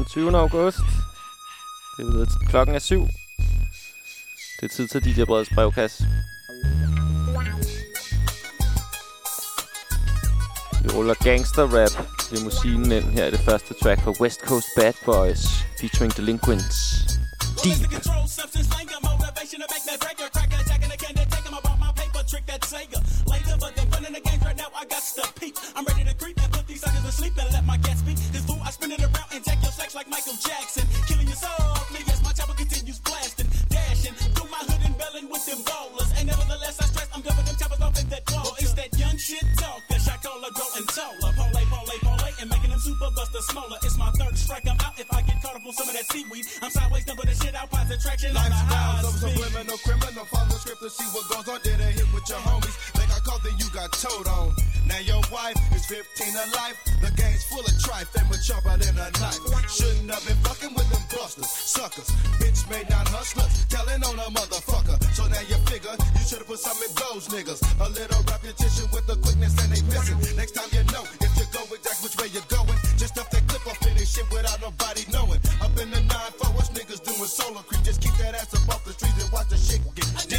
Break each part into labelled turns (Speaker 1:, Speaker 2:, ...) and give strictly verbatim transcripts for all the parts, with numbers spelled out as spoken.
Speaker 1: den tyvende august. Det er ved, klokken er syv. Det er tid til D J Breds brevkasse. Vi ruller gangster-rap limousinen ind. Her er det første track fra West Coast Bad Boys featuring Delinquents. Deep. Trick that Sega. Later, but then fun in the games right now. I got to peep. I'm ready to creep and put these suckers to sleep and let my gas speak. This fool, I spin it around and jack your sex like Michael Jackson. Killing you softly as my chopper continues blasting, dashing through my hood and belling with them ballers. And nevertheless, I stress I'm done with them choppers off in that wall. Well, it's that young shit talk that shot caller growing taller. Parlay, parlay, parlay, and making them super buster smaller. It's my third strike. I'm out if I get caught up on some of that seaweed. I'm sideways, number the shit out, positive traction on the high speed. Subliminal criminal, follow the script to see what goes on. Did a hit with your homies, like I called, then you got told on. Now your wife is fifteen of life. The game's full of trife, they were sharper than a knife. Shouldn't have been fucking with them busters, suckers. Bitch made not hustlers, telling on a motherfucker. So now you figure you should've put some in those niggas. A little repetition with the quickness and they missing. Next time you know, if you go exact which way you're going, just stuff that clip off in this shit without nobody knowing. Up in the nine four, what's niggas doing solo creep? Just keep that ass up off the streets and watch the shit get deep.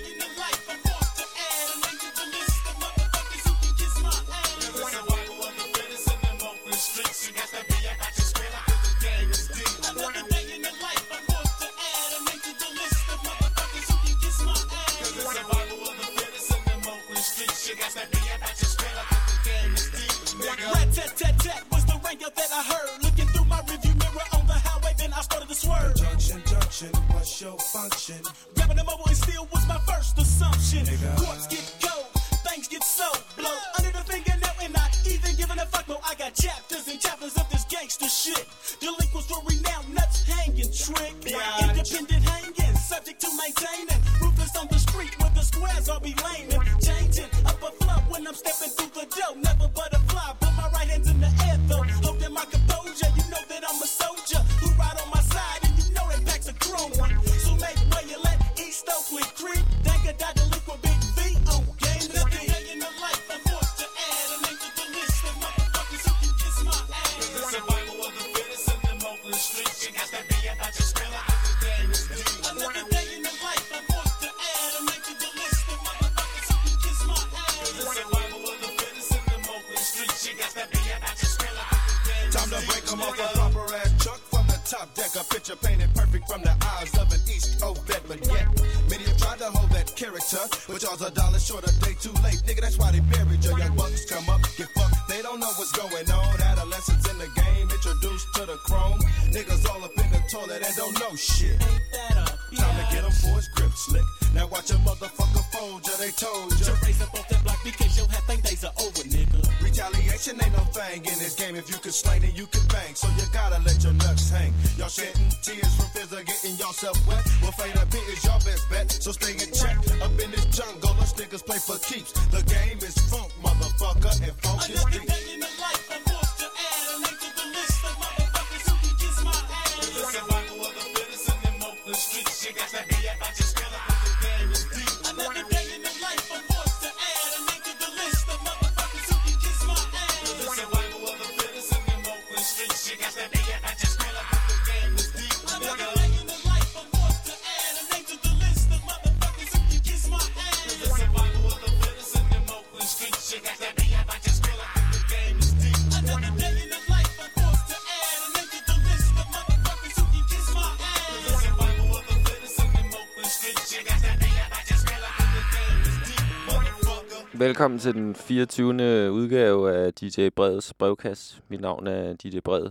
Speaker 1: That I heard looking through my review mirror on the highway, then I started to swerve. Junction, junction, what's your function? Grabbing them over and still was my first assumption. Courts get cold, things get so blow under the fingernail, and not even giving a fuck. No, I got chapters and chapters of this gangster shit. Delinquents were renowned, nuts hanging, trick, independent hanging, subject to maintaining, ruthless on the street where the squares all be laming, changing up a flow when I'm stepping through the door. Never butterfly, put my right hands in the air though. Holding my composure, you know that I'm a soldier who ride on my side, and you know that packs a chrome. So make way you let East Oakland creep. Think I die delinquent big V on game to day in the life. I'm forced to add a name to the list of motherfuckers who can kiss my ass. The survival of the fittest in them Oakland streets. You got to be about your skill out of the game is deep. Another day in the life. I'm forced to add a name to the list of motherfuckers who can kiss my ass. The survival of the fittest in them Oakland streets. You got to be about your skill out. Time to break them off a proper ass truck from the top deck. A picture painted perfect from the eyes of an East Coast vet. But yet, many have tried to hold that character, but y'all's a dollar short, a day too late. Nigga, that's why they buried you. Young bucks come up, get fucked. They don't know what's going on. Adolescents in the game, introduced to the chrome. Niggas all up in the toilet and don't know shit. Ain't that up? Yeah. Time to get them for his grip slick. Now watch a motherfucker fold ya, they told ya. To raise up off that block because your happy days are over, nigga. Retaliation ain't no thing in this game. If you can slay, then you can bang. So you gotta let your nuts hang. Y'all shedding tears from fears of getting yourself wet. Well, fade up here is your best bet. So stay in check. Up in this jungle, us niggas play for keeps. The game is funk, motherfucker, and funk is deep. Another day in the life, I'm forced to add a name to the list of motherfuckers who can kiss my ass. The survival of the fittest in them Oakland streets. You got to be about your skill up if the game is deep. Another day in the life, I'm forced to add a name to the list of motherfuckers who can kiss my ass. The survival of the fittest in them Oakland streets. You got to be about your skill up if the game is deep. Another day in the life, I'm forced to add a name to the list of motherfuckers who can kiss my ass. The survival of the fittest in them Oakland streets. You got to be about your skill up if the game is deep. Another day in the life, I'm forced to add a name to the list of motherfuckers who can kiss my ass. The survival of the fittest in them Oakland streets. You got to be about your skill up if the game is deep, motherfucker. Velkommen til den fireogtyvende udgave af D J Breds brevkasse. Mit navn er D J Bred.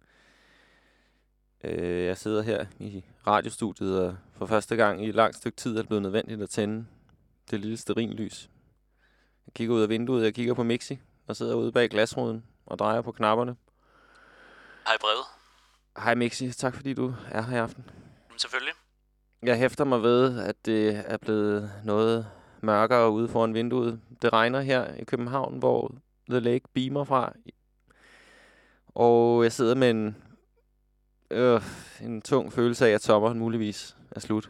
Speaker 1: Jeg sidder her i radiostudiet, og for første gang i et langt stykke tid er det blevet nødvendigt at tænde det lille stearinlys. Jeg kigger ud af vinduet, jeg kigger på Mixi, og sidder ude bag glasruden og drejer på knapperne.
Speaker 2: Hej Brevet.
Speaker 1: Hej Mixi, tak fordi du er her i aften.
Speaker 2: Selvfølgelig.
Speaker 1: Jeg hæfter mig ved, at det er blevet noget mørkere ude foran vinduet. Det regner her i København, hvor The Lake beamer fra. Og jeg sidder med en, øh, en tung følelse af, at sommeren muligvis er slut.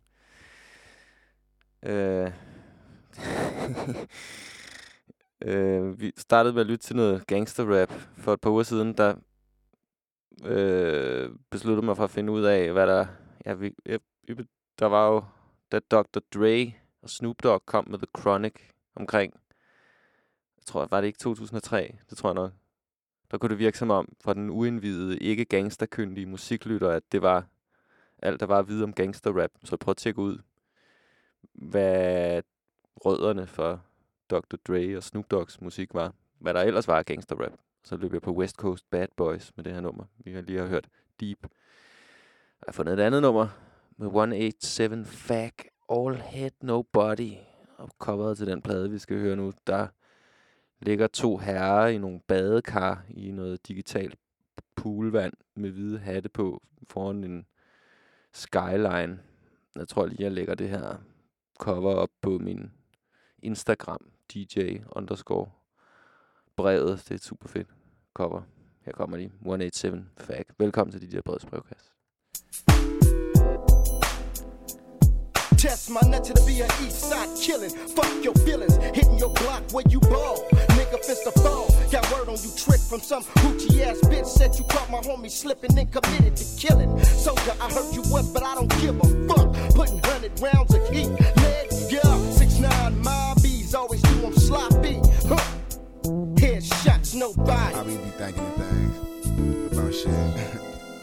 Speaker 1: Øh. øh, vi startede med at lytte til noget gangster-rap for et par uger siden, der
Speaker 3: øh, besluttede mig for at finde ud af, hvad der... Ja, vi, jeg, der var jo... Da doktor Dre og Snoop Dogg kom med The Chronic omkring... Jeg tror, var det ikke to tusind og tre? Det tror jeg nok. Der kunne det virke som om, for den uindvidede, ikke gangsterkyndige musiklytter, at det var alt, der var at vide om gangsterrap. Så jeg prøvede at tjekke ud, hvad rødderne for doktor Dre og Snoop Doggs musik var. Hvad der ellers var af gangsterrap. Så løb jeg på West Coast Bad Boys med det her nummer. Vi har lige hørt Deep. Jeg har fundet et andet nummer med et otte syv Fag, All Head Nobody. Og coveret til den plade, vi skal høre nu, der ligger to herrer i nogle badekar i noget digitalt poolvand med hvide hatte på foran en skyline. Jeg tror lige, jeg lægger det her cover op på min Instagram, D J underscore brevet. Det er et super fedt cover. Her kommer de. et otte syv Fag. Velkommen til D J Breds brevkasse.
Speaker 4: Test my nut to the be a east side killing. Fuck your feelings, hitting your block where you ball. Nigga fist a fall. Got word on you trick from some hoochie ass bitch. Said you caught my homie slipping and committed to killing. Soldier, I heard you once, but I don't give a fuck. Putting hundred rounds of heat. Lead, yeah, six nine mobbies always do them sloppy. Huh. Headshots, nobody.
Speaker 5: I really be thinking of things about shit.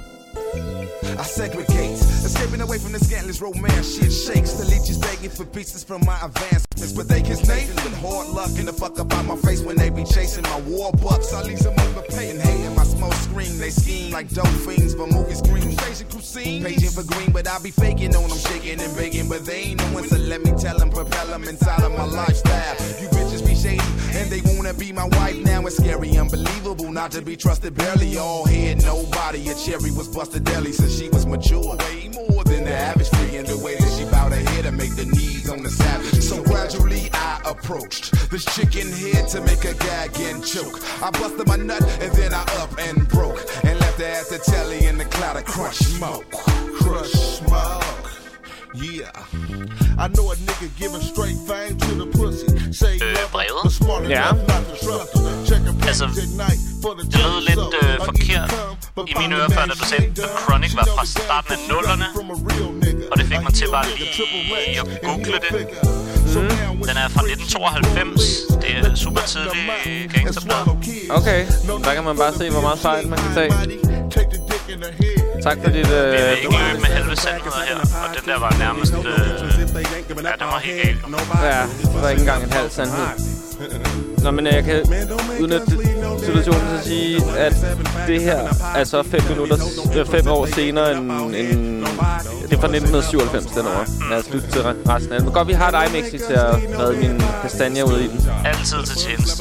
Speaker 5: I segregate, escaping away from the scandalous romance. Shit shakes, the leeches begging for pieces from my advancements. But they kiss Nathan with hard luck and the fuck up on my face when they be chasing my war bucks. I leave them overpaying, hating my smoke screen. They scheme like dope fiends for movie screens. Crazy cuisine, paging for green, but I be faking on them, shaking and begging. But they ain't no one, so let me tell them, propel them inside of my lifestyle. You bitches be shady, and they wanna be my wife now. It's scary, unbelievable, not to be trusted, barely all head, nobody. A cherry was busted deli, so she was mature, way more than the average free. And the way that she bowed her head to make the knees on the savage. So gradually I approached this chicken head to make a gag and choke. I busted my nut and then I up and broke and left her at the telly in the cloud of crunch smoke.
Speaker 6: Crush smoke. Yeah. I know a nigga giving straight fang to the pussy. Say
Speaker 2: brevet.
Speaker 6: the smart
Speaker 3: Ja.
Speaker 6: enough not to trust her. Check a
Speaker 2: Altså,
Speaker 6: page at night for the
Speaker 2: det lød lidt øh, forkert i mine ører før, da du sagde, The Chronic var fra starten af nullerne. Og det fik mig til bare lige at google det. Mm. Den er fra nitten tooghalvfems. Det er super tidlig gangsterplade.
Speaker 3: Okay, der kan man bare se, hvor meget fejl man kan tage. Tak for dit... Øh,
Speaker 2: Vi vil ikke løbe med halve sandheder her. Og den der var nærmest... Øh, ja, den var helt galt.
Speaker 3: Ja, det var ikke engang en halv sandhed. Nå, men jeg kan udnytte situationen til at sige, at det her er så fem minutter, fem år senere end... end det er fra nitten syvoghalvfems, den år. Lad os lytte til resten af det. Men godt, vi har dig, Mixi, til at redde mine kastanjer ud i den.
Speaker 2: Altid til tjeneste.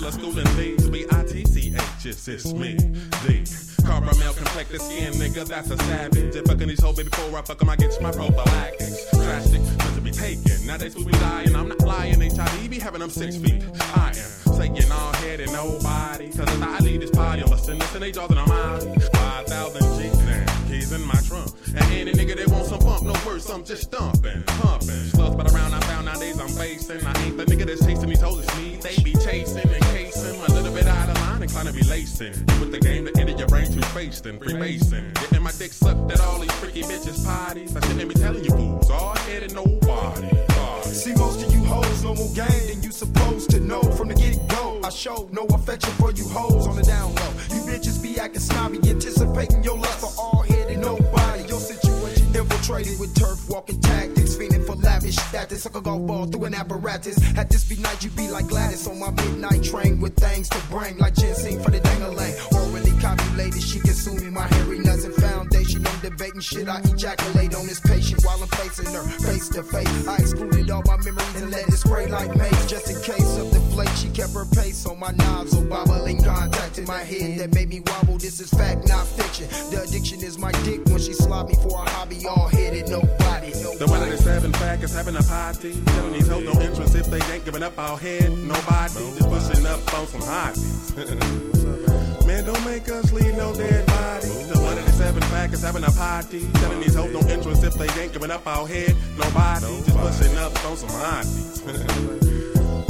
Speaker 7: Caramel complected skin, nigga, that's a savage. If fucking these hoes, baby, before I fuck 'em, I get my prophylactics. Drastic, to be taken. Now they supposed to be lying, I'm not lying. H I V be having them six feet. I am saying all head and nobody. Cause if I leave this party, I'm busting this and they jaws and I'm out. five thousand G, man, keys in my trunk. And any nigga that wants some bump, no words, I'm just stumping, pumping. Slugs but around I found nowadays I'm facing. I ain't the nigga that's chasing these hoes, it's me. They be chasing and casing, a little bit out of line, inclined to be lacing. With the game, the end of your brain too faced and freebasing. Getting my dick sucked at all these freaky bitches' parties. I shouldn't be telling you fools, all head and nobody.
Speaker 4: See, most of you hoes no more game than you supposed to know. From the get-go, I show no affection for you hoes on the down low. You bitches be acting snobby, anticipating your lust for all head and nobody. Your situation infiltrated with turf walking tactics, fiending for lavish status. Suck a golf ball through an apparatus. Had this be night, you be like Gladys on my midnight train with things to bring, like ginseng for the dang-a-lang. Orally copulated, she consuming my hairy nuts and foundation. I'm debating shit, I ejaculate on this patient while I'm facing her face to face. I excluded all my memories and let it spray like mace. Just in case of the flake, she kept her pace on my nozzle, bobbling contact in my head that made me wobble. This is fact, not fiction. The addiction is my dick when she slob me for a hobby. All headed, nobody, nobody.
Speaker 7: The one of the seven Fag is having a party. Telling these hoes no entrance if they ain't giving up all head. Nobody, just pushing up on some hotties. Man, don't make us leave no dead body. The one of the seven Fag is having a party. Telling these hoes no entrance if they ain't giving up all head. Nobody, just pushing up on some hotties.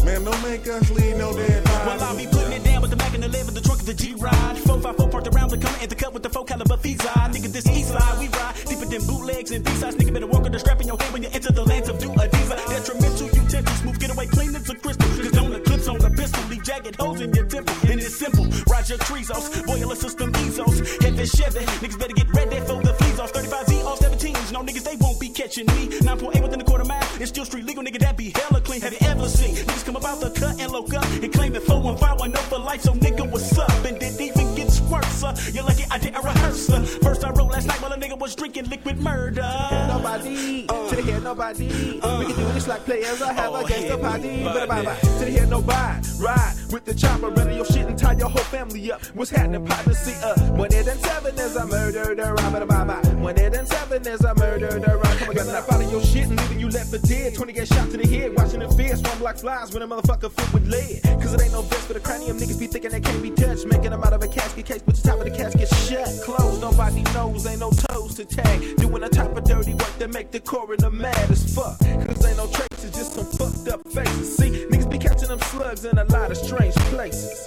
Speaker 7: Man, don't make us leave no dead bodies.
Speaker 1: Well, I'll be putting it down with the Mac and the eleven, the trunk of the G-Ride. four five four parked around the coming at the cut with the four caliber fees. Nigga, this east side, we ride deeper than bootlegs and B-sides. Nigga, better walk with the strap in your hand when you enter the lands of do-a-deeza. Detrimental utensils, smooth, get away clean as a crystal. Cause don't the clips on the pistol, leave jagged holes in your temple. And it's simple, Roger Trezos, boiler system Ezos. Heavy Chevy, niggas better get ready for the fleas off. thirty-five Z off seventeens, no niggas, they won't be catching me. nine point eight within the quarter mile, it's still street legal, nigga, that be hella clean. Have you ever seen niggas come about the cut and look up and claim it four one five one oh for life? So nigga, what's up? And it even gets worse, uh. You're lucky I didn't rehearse, uh. First I wrote last night while a nigga was drinking liquid murder.
Speaker 8: Nobody, uh. to the head nobody, uh. we can do this like players, I have oh, a gangsta party. But bye bye, to the head nobody, ride with the chopper, ready your shit and tie your whole family up. What's happening, partner? See, uh, one eight and seven is a murder, the rhyme, but bye bye. One eight and seven is a murder, the rhyme. Come on, got not follow your shit and leaving you left for dead. twenty get shot to the head, watching the fear, swarm like flies when a motherfucker fit with lead. Cause it ain't no vest for the cranium, niggas be thinking they can't be touched, making them out of a casket case, but the top of the casket shut. Closed, nobody knows, ain't no toes to tag. Doing the type of dirty work that make the coroner mad as fuck. Cause ain't no traces, just some fucked up faces. See, niggas be catching them slugs in a lot of strange places.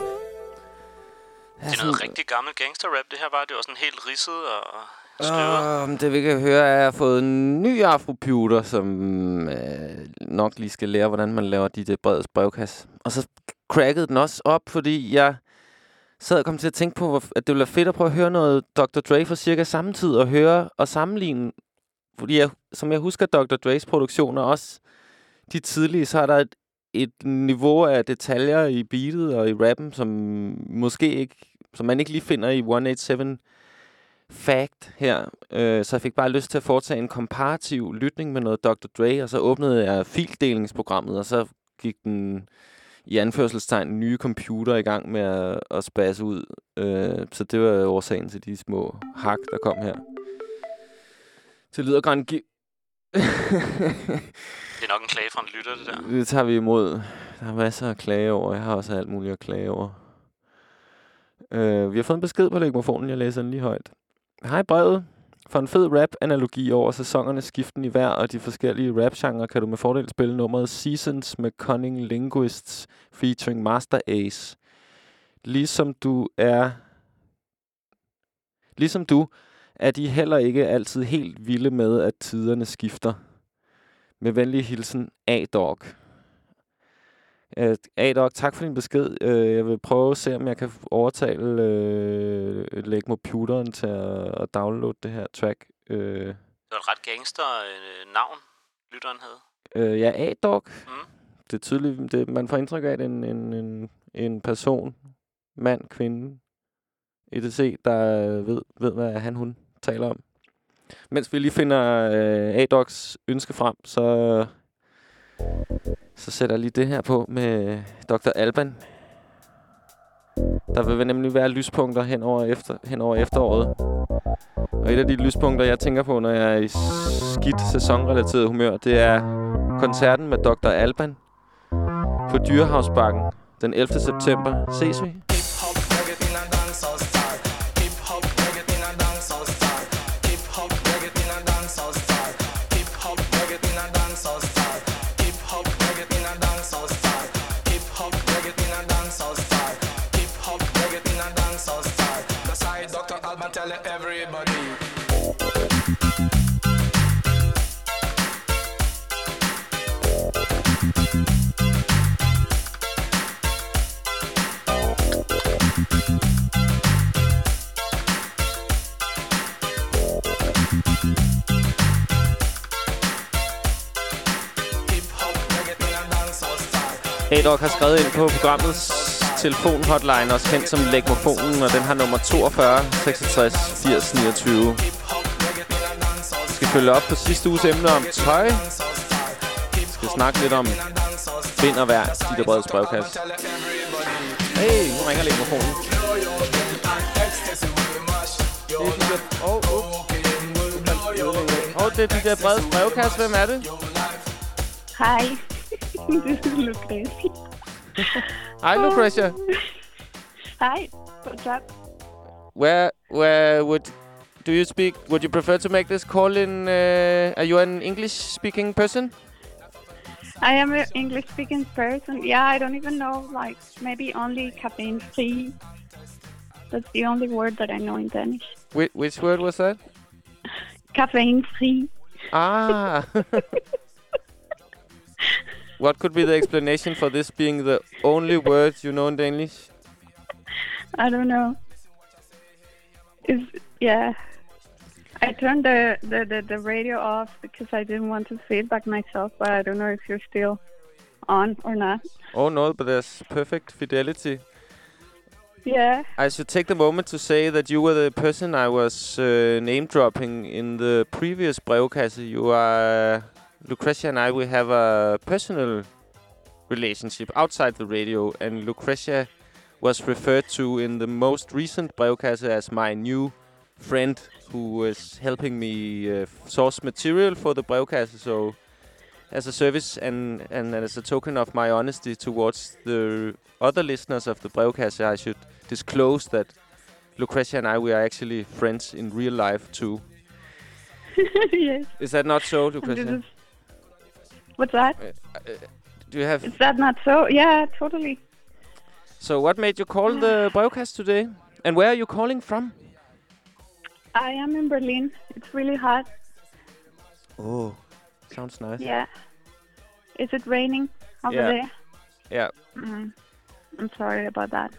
Speaker 2: Det er noget rigtig gammel gangster-rap, det her var. Det var sådan helt ridset og støvet.
Speaker 3: Uh, det vi kan høre er, at jeg har fået en ny afroputer, som øh, nok lige skal lære, hvordan man laver de der breds brevkasse. Og så crackede den også op, fordi jeg sad og kom til at tænke på, at det ville være fedt at prøve at høre noget doktor Dre for cirka samme tid, og høre og sammenligne. Fordi jeg, som jeg husker doktor Dre's produktioner, også de tidlige, så er der et, et niveau af detaljer i beatet og i rappen, som måske ikke, som man ikke lige finder i one eight seven Fact her. Øh, så jeg fik bare lyst til at foretage en komparativ lytning med noget doktor Dre, og så åbnede jeg fildelingsprogrammet, og så gik den i anførselstegn nye computer i gang med at, at spasse ud. Øh, så det var årsagen til de små hak, der kom her. Det lyder grænt gi-
Speaker 2: Det er nok en klage fra en lytter, det der.
Speaker 3: Det tager vi imod. Der er masser af klage over. Jeg har også alt muligt at klage over. Øh, vi har fået en besked på legmofonen. Jeg læser den lige højt. Hej brevet. For en fed rap-analogi over sæsonernes skiften i hver og de forskellige rap-genrer, kan du med fordel spille nummeret Seasons med Cunning Linguists featuring Master Ace. Ligesom du er... Ligesom du er de heller ikke altid helt vilde med, at tiderne skifter. Med venlig hilsen, A-Dog. Uh, A-Dog, tak for din besked. Uh, jeg vil prøve at se, om jeg kan overtale uh, lægge computeren til at, at downloade det her track. Uh,
Speaker 2: det var et ret gangster uh, navn, lytteren havde.
Speaker 3: Uh, ja, A-Dog. Mm. Det er tydeligt, det, man får indtryk af, at en, en, en, en person, mand, kvinde, et cetera, der ved, ved, hvad han, hun taler om. Mens vi lige finder uh, A-Dogs ønske frem, så... Så sætter jeg lige det her på med doktor Alban. Der vil nemlig være lyspunkter hen over, efter, hen over efteråret. Og et af de lyspunkter, jeg tænker på, når jeg er i skidt sæsonrelateret humør, det er koncerten med doktor Alban på Dyrehavsbakken den ellevte september. Ses vi?
Speaker 9: Tell everybody.
Speaker 3: A-Dog har skrevet ind på programmets telefon-hotline, også kendt som Legmofonen, og den har nummer toogfyrre seksogtres firs niogtyve. Vi skal følge op på sidste uges emne om tøj. Vi skal snakke lidt om vind og vejr, de der breds brevkasse. Hey, nu ringer Legmofonen. Åh, oh, oh. oh, det er de der breds brevkasse. Hvem er det?
Speaker 10: Hej. Det er Lucretia.
Speaker 3: Hi, Lucretia.
Speaker 10: Hi, what's up?
Speaker 3: Where, where would do you speak? Would you prefer to make this call in? Uh, are you an English-speaking person?
Speaker 10: I am an English-speaking person. Yeah, I don't even know, like, maybe only caffeine-free. That's the only word that I know in Danish.
Speaker 3: Wh- which word was that?
Speaker 10: Caffeine-free.
Speaker 3: Ah. What could be the explanation for this being the only word you know in Danish?
Speaker 10: I don't know. Is yeah. I turned the, the, the, the radio off because I didn't want to feedback myself, but I don't know if you're still on or not.
Speaker 3: Oh no, but there's perfect fidelity.
Speaker 10: Yeah.
Speaker 3: I should take the moment to say that you were the person I was uh, name-dropping in the previous brevkasse. You are... Lucretia and I, we have a personal relationship outside the radio, and Lucretia was referred to in the most recent brevkasse as my new friend who was helping me uh, source material for the brevkasse. So as a service and, and as a token of my honesty towards the other listeners of the brevkasse, I should disclose that Lucretia and I, we are actually friends in real life too.
Speaker 10: Yes.
Speaker 3: Is that not so, Lucretia?
Speaker 10: What's that?
Speaker 3: Uh, uh, do you have...
Speaker 10: Is that not so? Yeah, totally.
Speaker 3: So what made you call the brevkasse today? And where are you calling from?
Speaker 10: I am in Berlin. It's really hot.
Speaker 3: Oh, sounds nice.
Speaker 10: Yeah. Is it raining over
Speaker 3: yeah.
Speaker 10: there?
Speaker 3: Yeah.
Speaker 10: Mm. I'm sorry about that.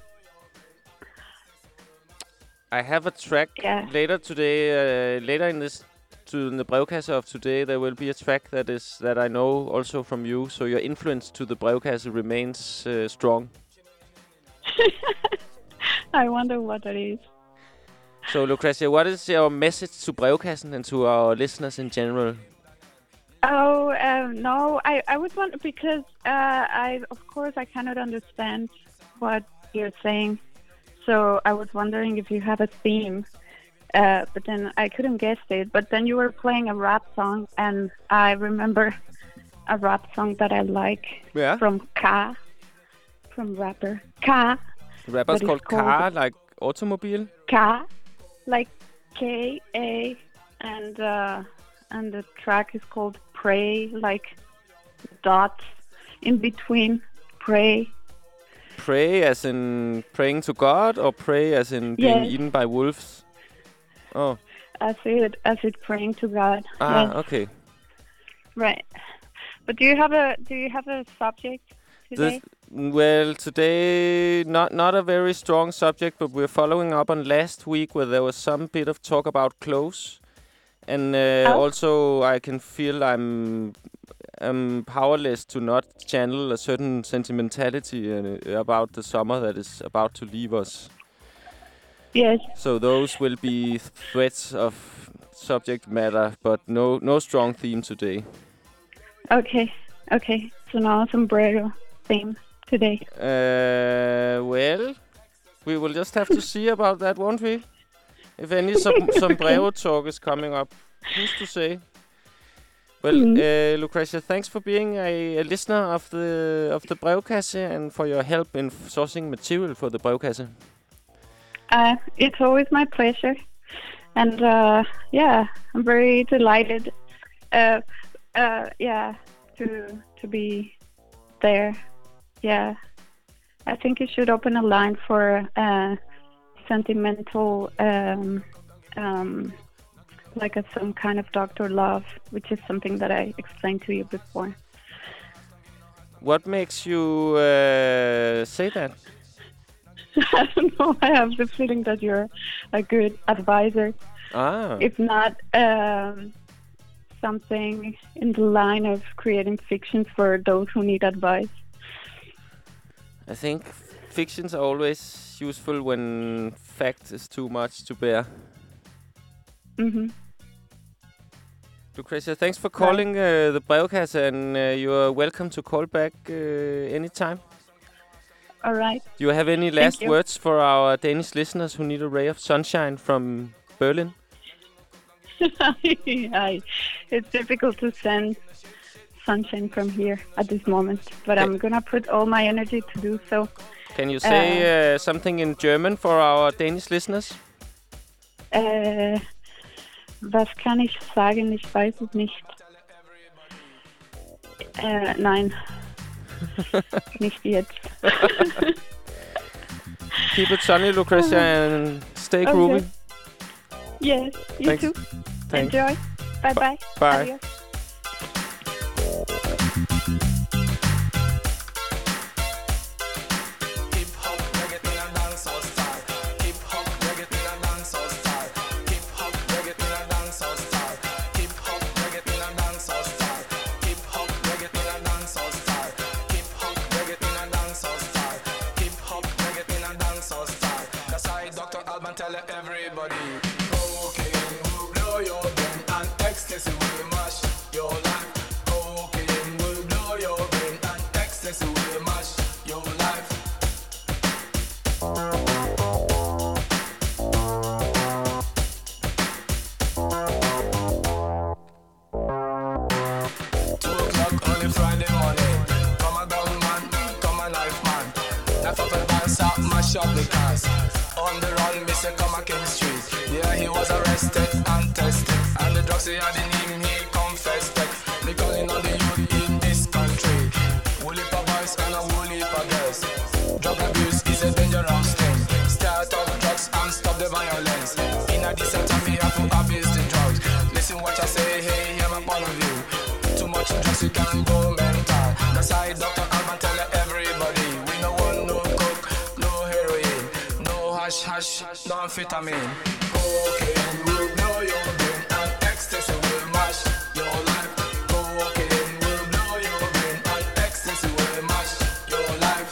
Speaker 3: I have a track
Speaker 10: yeah.
Speaker 3: later today, uh, later in this to in the brevkasse of today, there will be a track that is that I know also from you. So your influence to the brevkasse remains uh, strong.
Speaker 10: I wonder what that is.
Speaker 3: So Lucretia, what is your message to brevkassen and to our listeners in general?
Speaker 10: Oh um, no, I I would want because uh, I of course I cannot understand what you're saying. So I was wondering if you have a theme. Uh, but then I couldn't guess it. But then you were playing a rap song, and I remember a rap song that I like
Speaker 3: yeah.
Speaker 10: from K, from rapper K.
Speaker 3: The rapper's called K, like automobile?
Speaker 10: K, like K A, and uh, and the track is called Pray, like dots in between. Pray.
Speaker 3: Pray as in praying to God, or pray as in being
Speaker 10: yes.
Speaker 3: eaten by wolves? Oh.
Speaker 10: As it as it praying to God.
Speaker 3: Ah,
Speaker 10: yes.
Speaker 3: okay.
Speaker 10: Right. But do you have a do you have a subject today?
Speaker 3: This, well, today not not a very strong subject, but we're following up on last week where there was some bit of talk about clothes, and uh,
Speaker 10: oh.
Speaker 3: also I can feel I'm I'm powerless to not channel a certain sentimentality uh, about the summer that is about to leave us.
Speaker 10: Yes.
Speaker 3: So those will be threads of subject matter, but no no strong theme today.
Speaker 10: Okay, okay. So no sombrero theme today.
Speaker 3: Uh, well, we will just have to see about that, won't we? If any som- sombrero talk is coming up, who's to say? Well, mm-hmm. uh, Lucretia, thanks for being a, a listener of the of the brevkasse and for your help in f- sourcing material for the brevkasse.
Speaker 10: Uh, it's always my pleasure, and uh, yeah, I'm very delighted. Uh, uh, yeah, to to be there. Yeah, I think you should open a line for uh, sentimental, um, um, like a, some kind of Doctor Love, which is something that I explained to you before.
Speaker 3: What makes you uh, say that?
Speaker 10: I don't know. I have the feeling that you're a good advisor.
Speaker 3: Ah.
Speaker 10: If not, um, something in the line of creating fictions for those who need advice.
Speaker 3: I think fictions are always useful when fact is too much to bear.
Speaker 10: Mm-hmm.
Speaker 3: Lucretia, thanks for calling uh, the brevkasse, and uh, you are welcome to call back uh, anytime.
Speaker 10: All right.
Speaker 3: Do you have any last words for our Danish listeners who need a ray of sunshine from Berlin?
Speaker 10: It's difficult to send sunshine from here at this moment, but okay. I'm going to put all my energy to do so.
Speaker 3: Can you say uh, uh, something in German for our Danish listeners?
Speaker 10: Uh, was kann ich sagen? Ich weiß es nicht. Uh, nein. Nicht jetzt.
Speaker 3: Keep it sunny, Lucretia, and stay
Speaker 10: Okay.
Speaker 3: groovy.
Speaker 10: Yes, you
Speaker 3: Thanks.
Speaker 10: too.
Speaker 3: Thanks.
Speaker 10: Enjoy. Bye-bye.
Speaker 3: Bye.
Speaker 10: Adios.
Speaker 9: Shop the cars. On the run, Mister Come King Street. Yeah, he was arrested and tested. And the drugs he had in him, he confessed it. They calling on the youth in this country. Woolly pa boys and a woolly pa girls. Drug abuse is a dangerous thing. Start off drugs and stop the violence. In a decent time, we have to abuse the drugs. Listen what I say, hey, hear my point of view. Too much drugs, you can go mental. That's why Doctor Alban tell everybody, we no want no coke, no heroin, no hash hash, no amphetamine. Cocaine will blow your brain and ecstasy will mash your life. Cocaine will blow your brain and ecstasy will mash your life.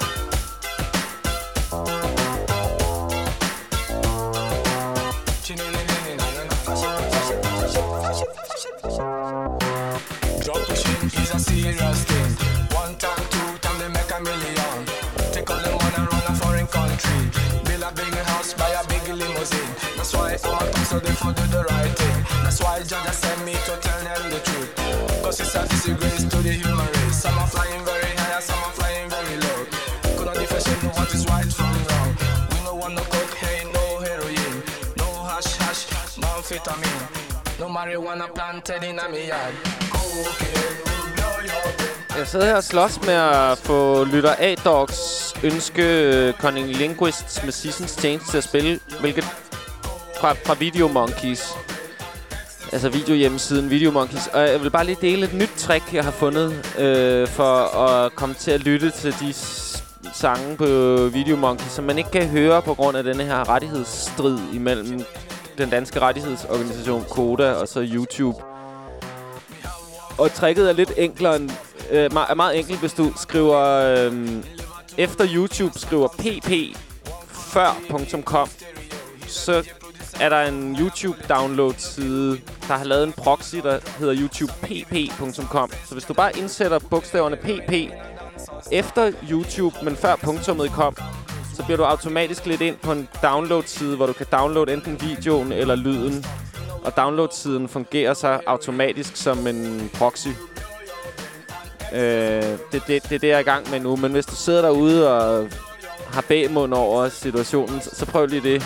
Speaker 9: Drug pushing is a serious thing. One time, two time, they make a million. Take all the money run a foreign country. Build a big house, buy a big limousine. That's why I'm a so they for do the right thing. That's why Jah sent me to tell them the truth. Cause it's a disgrace to the human race. Some are flying very high, some are flying very low. Could not differentiate what is right from wrong. We no want no cocaine, no heroin, no hash hash, no amphetamine, no marijuana planted in a me yard. Cocaine will blow your brain.
Speaker 3: Jeg sidder her og slås med at få lytter A-Dogs ønske Cunning Linguists med Seasons Change til at spille, hvilket fra, fra Video Monkeys. Altså videohjemmesiden Video Monkeys. Og jeg vil bare lige dele et nyt trick, jeg har fundet øh, for at komme til at lytte til de sange på Video Monkeys, som man ikke kan høre på grund af denne her rettighedsstrid imellem den danske rettighedsorganisation Koda og så YouTube. Og tricket er lidt enklere end, øh, er meget enkelt, hvis du skriver øh, efter YouTube skriver pp før punktum com, så er der en YouTube download side, der har lavet en proxy, der hedder youtube p p punktum com. Så hvis du bare indsætter bogstaverne pp efter YouTube, men før punktummet kom, så bliver du automatisk lidt ind på en download-side, hvor du kan downloade enten videoen eller lyden. Og download-siden fungerer så automatisk som en proxy. Øh, det, det, det er det, jeg er i gang med nu. Men hvis du sidder derude og har bagmund over situationen, så, så prøv lige det.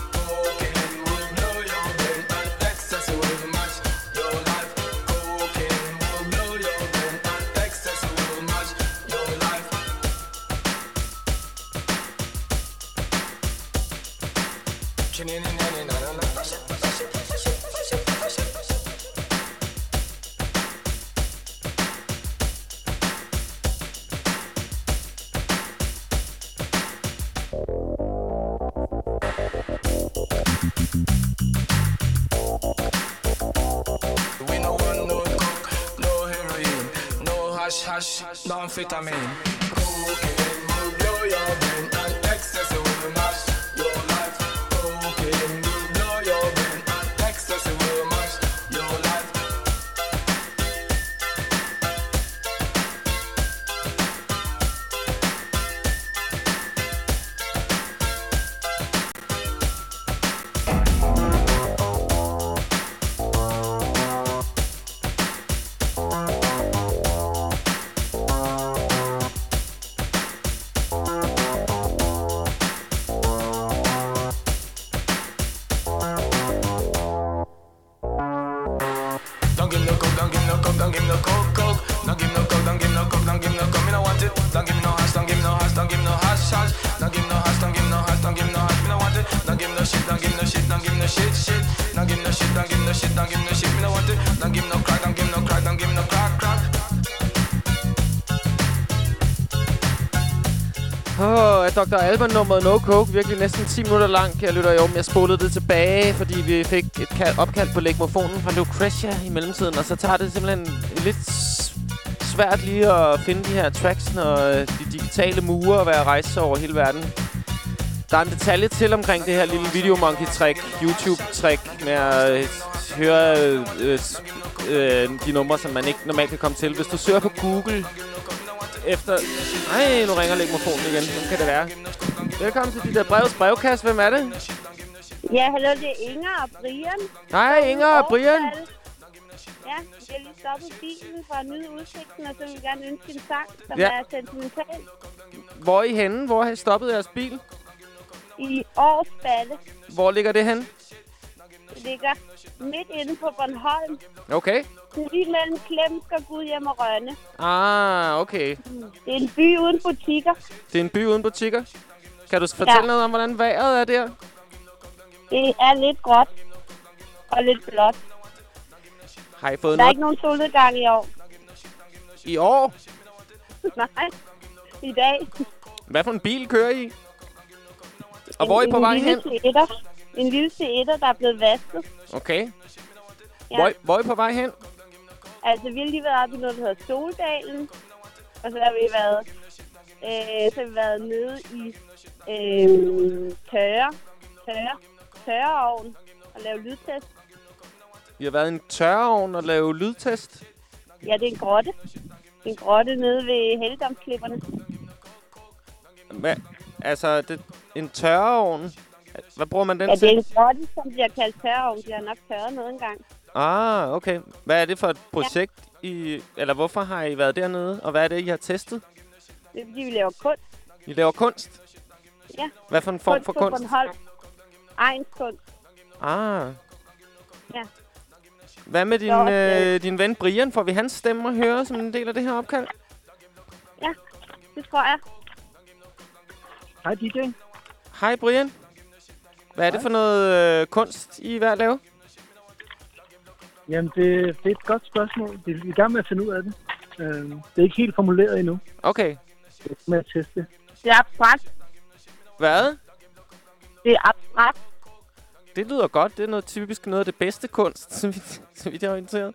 Speaker 9: No amphetamine. Cocaine will blow your brain and ecstasy will mash your life. Cocaine will blow your brain and ecstasy will mash your life. don't give me no shit, shit. Don't give me no shit, don't give me no shit, don't give me no shit. Me no want it. Don't give me no crack, don't give me no crack, don't give me no crack, crack.
Speaker 3: Åh, oh, doktor Alban-nummeret No Coke, virkelig næsten ti minutter lang, kære lytter. Jo, men jeg spolede det tilbage, fordi vi fik et kald, opkald på legmofonen fra Lucretia i mellemtiden, og så tager det simpelthen lidt svært lige at finde de her tracks, når de digitale mure er at rejse over hele verden. Der er en detalje til omkring det her lille videomonkey-trick, YouTube-trick, med at høre øh, øh, de numre, som man ikke normalt kan komme til. Hvis du søger på Google efter... Ej, nu ringer legmofonen igen. Hvem kan det være? Velkommen til dit der brevs brevkast. Hvem er det?
Speaker 11: Ja, hallo, det er Inger og Brian.
Speaker 3: Hej, Inger og Brian.
Speaker 11: Ja, jeg har lige stoppet bilen for at nyde udsigten, og så vil jeg gerne ønske en sang, som
Speaker 3: ja.
Speaker 11: er sentimental.
Speaker 3: Hvor er I henne? Hvor har I stoppet jeres bil?
Speaker 11: I Årsballe.
Speaker 3: Hvor ligger det henne?
Speaker 11: Det ligger midt inde på Bornholm.
Speaker 3: Okay.
Speaker 11: Lige mellem Klemsk og Gudhjem og Rønne.
Speaker 3: Ah, okay.
Speaker 11: Det er en by uden butikker.
Speaker 3: Det er en by uden butikker? Kan du fortælle ja. noget om, hvordan vejret er der?
Speaker 11: Det er lidt gråt og lidt blåt.
Speaker 3: Har I fået
Speaker 11: der
Speaker 3: noget?
Speaker 11: er ikke nogen solnedgang i år.
Speaker 3: I år?
Speaker 11: Nej, i dag.
Speaker 3: Hvad for en bil kører I? Og
Speaker 11: en,
Speaker 3: hvor er I på vej hen?
Speaker 11: Seater. En lille Seater, der er blevet vasket.
Speaker 3: Okay.
Speaker 11: Ja.
Speaker 3: Hvor, hvor er I på vej hen?
Speaker 11: Altså, vi har lige været oppe i noget, der hedder Soldalen. Og så har vi været, øh, så har vi været nede i øh, tørre, tørre, tørreovn og lave lydtest.
Speaker 3: Vi har været i en tørreovn og lave lydtest?
Speaker 11: Ja, det er en grotte. En grotte nede ved Helligdomsklipperne.
Speaker 3: Hvad? Altså, det, en tørreovn? Hvad bruger man den
Speaker 11: ja,
Speaker 3: til?
Speaker 11: Ja, det er en grotte, som bliver kaldt tørreovn. De har nok tørret noget engang.
Speaker 3: Ah, okay. Hvad er det for et projekt, ja. I... Eller hvorfor har I været dernede? Og hvad er det, I har testet?
Speaker 11: Det er, fordi vi laver kunst.
Speaker 3: I laver kunst?
Speaker 11: Ja.
Speaker 3: Hvad for en form
Speaker 11: kunst
Speaker 3: for kunst?
Speaker 11: Bornholm. Ejens kunst.
Speaker 3: Ah.
Speaker 11: Ja.
Speaker 3: Hvad med din, også, øh, din ven Brian? Får vi hans stemme at høre som en del af det her opkald?
Speaker 11: Ja, det tror jeg.
Speaker 12: Hej, D J.
Speaker 3: Hej, Brian. Hvad er det for noget øh, kunst, I er ved at lave?
Speaker 12: Jamen, det, det er et godt spørgsmål. Vi er i gang med at finde ud af det. Uh, det er ikke helt formuleret endnu.
Speaker 3: Okay.
Speaker 12: Det er med at teste.
Speaker 11: Det er abstrakt.
Speaker 3: Hvad?
Speaker 11: Det er abstrakt.
Speaker 3: Det lyder godt. Det er noget typisk noget af det bedste kunst, så vidt, så vidt jeg er orienteret.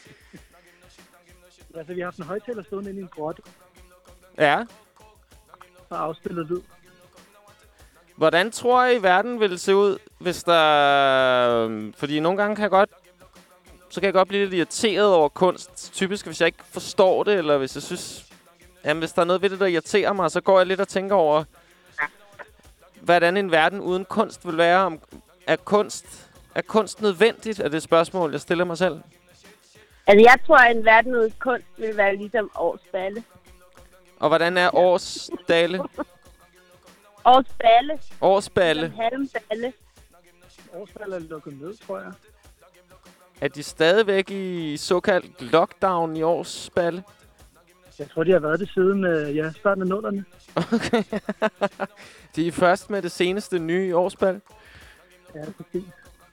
Speaker 12: Altså, vi har haft en højtaler stående inde i en grotte.
Speaker 3: Ja.
Speaker 12: Og afspillet lyd.
Speaker 3: Hvordan tror I, verden ville se ud, hvis der... Fordi nogle gange kan jeg godt... Så kan jeg godt blive lidt irriteret over kunst. Typisk, hvis jeg ikke forstår det, eller hvis jeg synes... Jamen, hvis der er noget ved det, der irriterer mig, så går jeg lidt og tænker over... Hvordan en verden uden kunst vil være. Om, er, kunst, er kunst nødvendigt? Er det et spørgsmål, jeg stiller mig selv?
Speaker 11: Altså, jeg tror, at en verden uden kunst vil være ligesom Årsballe.
Speaker 3: Og hvordan er Årsdale?
Speaker 11: Årsballe.
Speaker 3: Årsballe.
Speaker 11: Ligesom Halmballe.
Speaker 12: Årsballe er lukket ned, tror jeg.
Speaker 3: Er de stadigvæk i såkaldt lockdown i Årsballe?
Speaker 12: Jeg tror, de har været det siden øh, ja, starten af nullerne.
Speaker 3: Okay. De er først med det seneste nye i Årsballe.
Speaker 12: Ja, præcis.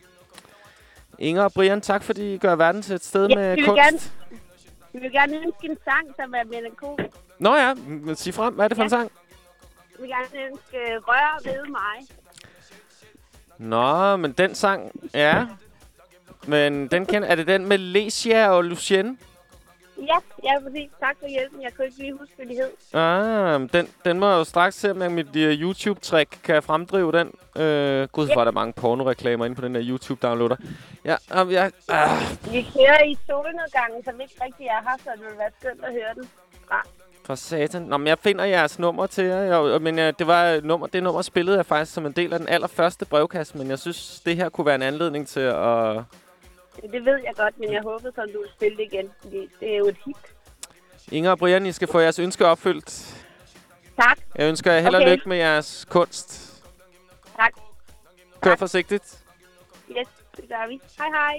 Speaker 3: Inger og Brian, tak fordi I gør verden til et sted
Speaker 11: ja,
Speaker 3: med
Speaker 11: vi
Speaker 3: kunst.
Speaker 11: Gerne, vi vil gerne ønske en sang, som er melankolisk.
Speaker 3: Nå ja, men sig frem. Hvad er det for ja. en sang?
Speaker 11: Vi vil gerne ønske Rør ved mig.
Speaker 3: Nå, men den sang, ja. Men den kender, er det den med Lesia og Lucienne?
Speaker 11: Ja, ja, præcis. Tak for hjælpen. Jeg kunne ikke lige huske, hvad de hed.
Speaker 3: Ah, den, den må jeg jo straks se, om jeg med mit uh, YouTube-trick kan fremdrive den. Uh, Gud, hvor er der mange pornoreklamer inde på den der YouTube-downloader. Ja, um, jeg... Ah.
Speaker 11: Vi kører i solnedgangen, som ikke rigtig er her, så det vil være skønt at høre den. Ah.
Speaker 3: For satan. Nå, men jeg finder jeres nummer til jer. Jeg, men ja, det var nummer, det nummer spillede jeg faktisk som en del af den allerførste brevkasse, men jeg synes, det her kunne være en anledning til at...
Speaker 11: Det ved jeg godt, men jeg håber, så du vil spille det igen, fordi det er jo et hit.
Speaker 3: Inger og Brian, I skal få jeres ønske opfyldt.
Speaker 11: Tak.
Speaker 3: Jeg ønsker jer held og
Speaker 11: okay.
Speaker 3: lykke med jeres kunst.
Speaker 11: Tak.
Speaker 3: Kør
Speaker 11: tak.
Speaker 3: forsigtigt.
Speaker 11: Yes, det gør vi. Hej hej.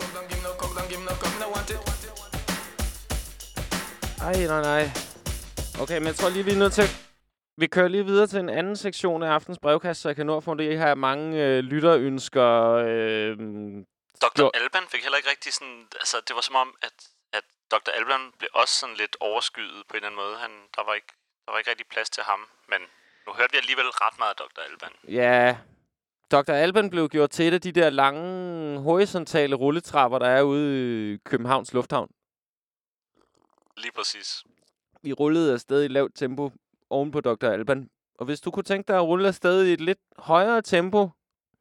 Speaker 3: Ej, nej, nej. Okay, men jeg tror lige, vi er nødt til... Vi kører lige videre til en anden sektion af aftens brevkast, så jeg kan nå at få det her mange øh, lytterønsker. Øh,
Speaker 2: doktor Jo. Alban fik heller ikke rigtig sådan... Altså, det var som om, at, at doktor Alban blev også sådan lidt overskyet på en eller anden måde. Han, der, var ikke, der var ikke rigtig plads til ham, men nu hørte vi alligevel ret meget af doktor Alban.
Speaker 3: Ja, doktor Alban blev gjort til et af de der lange, horisontale rulletrapper, der er ude i Københavns Lufthavn.
Speaker 2: Lige præcis.
Speaker 3: Vi rullede afsted i lavt tempo oven på doktor Alban. Og hvis du kunne tænke dig at rulle afsted i et lidt højere tempo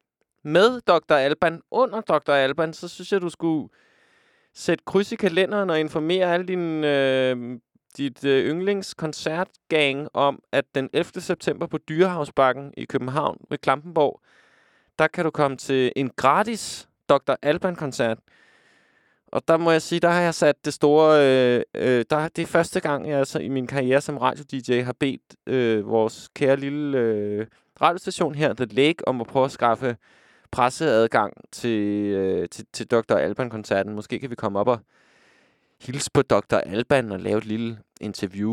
Speaker 3: med doktor Alban, under doktor Alban, så synes jeg, du skulle sætte kryds i kalenderen og informere alle dine, øh, dit øh, yndlingskoncertgang om, at den ellevte september på Dyrehavsbakken i København ved Klampenborg, der kan du komme til en gratis doktor Alban-koncert. Og der må jeg sige, der har jeg sat det store... Øh, øh, der, det er første gang, jeg altså, i min karriere som radio-D J har bedt øh, vores kære lille øh, radiostation her, The Lake, om at prøve at skaffe presseadgang til, øh, til, til doktor Alban-koncerten. Måske kan vi komme op og hilse på doktor Alban og lave et lille interview.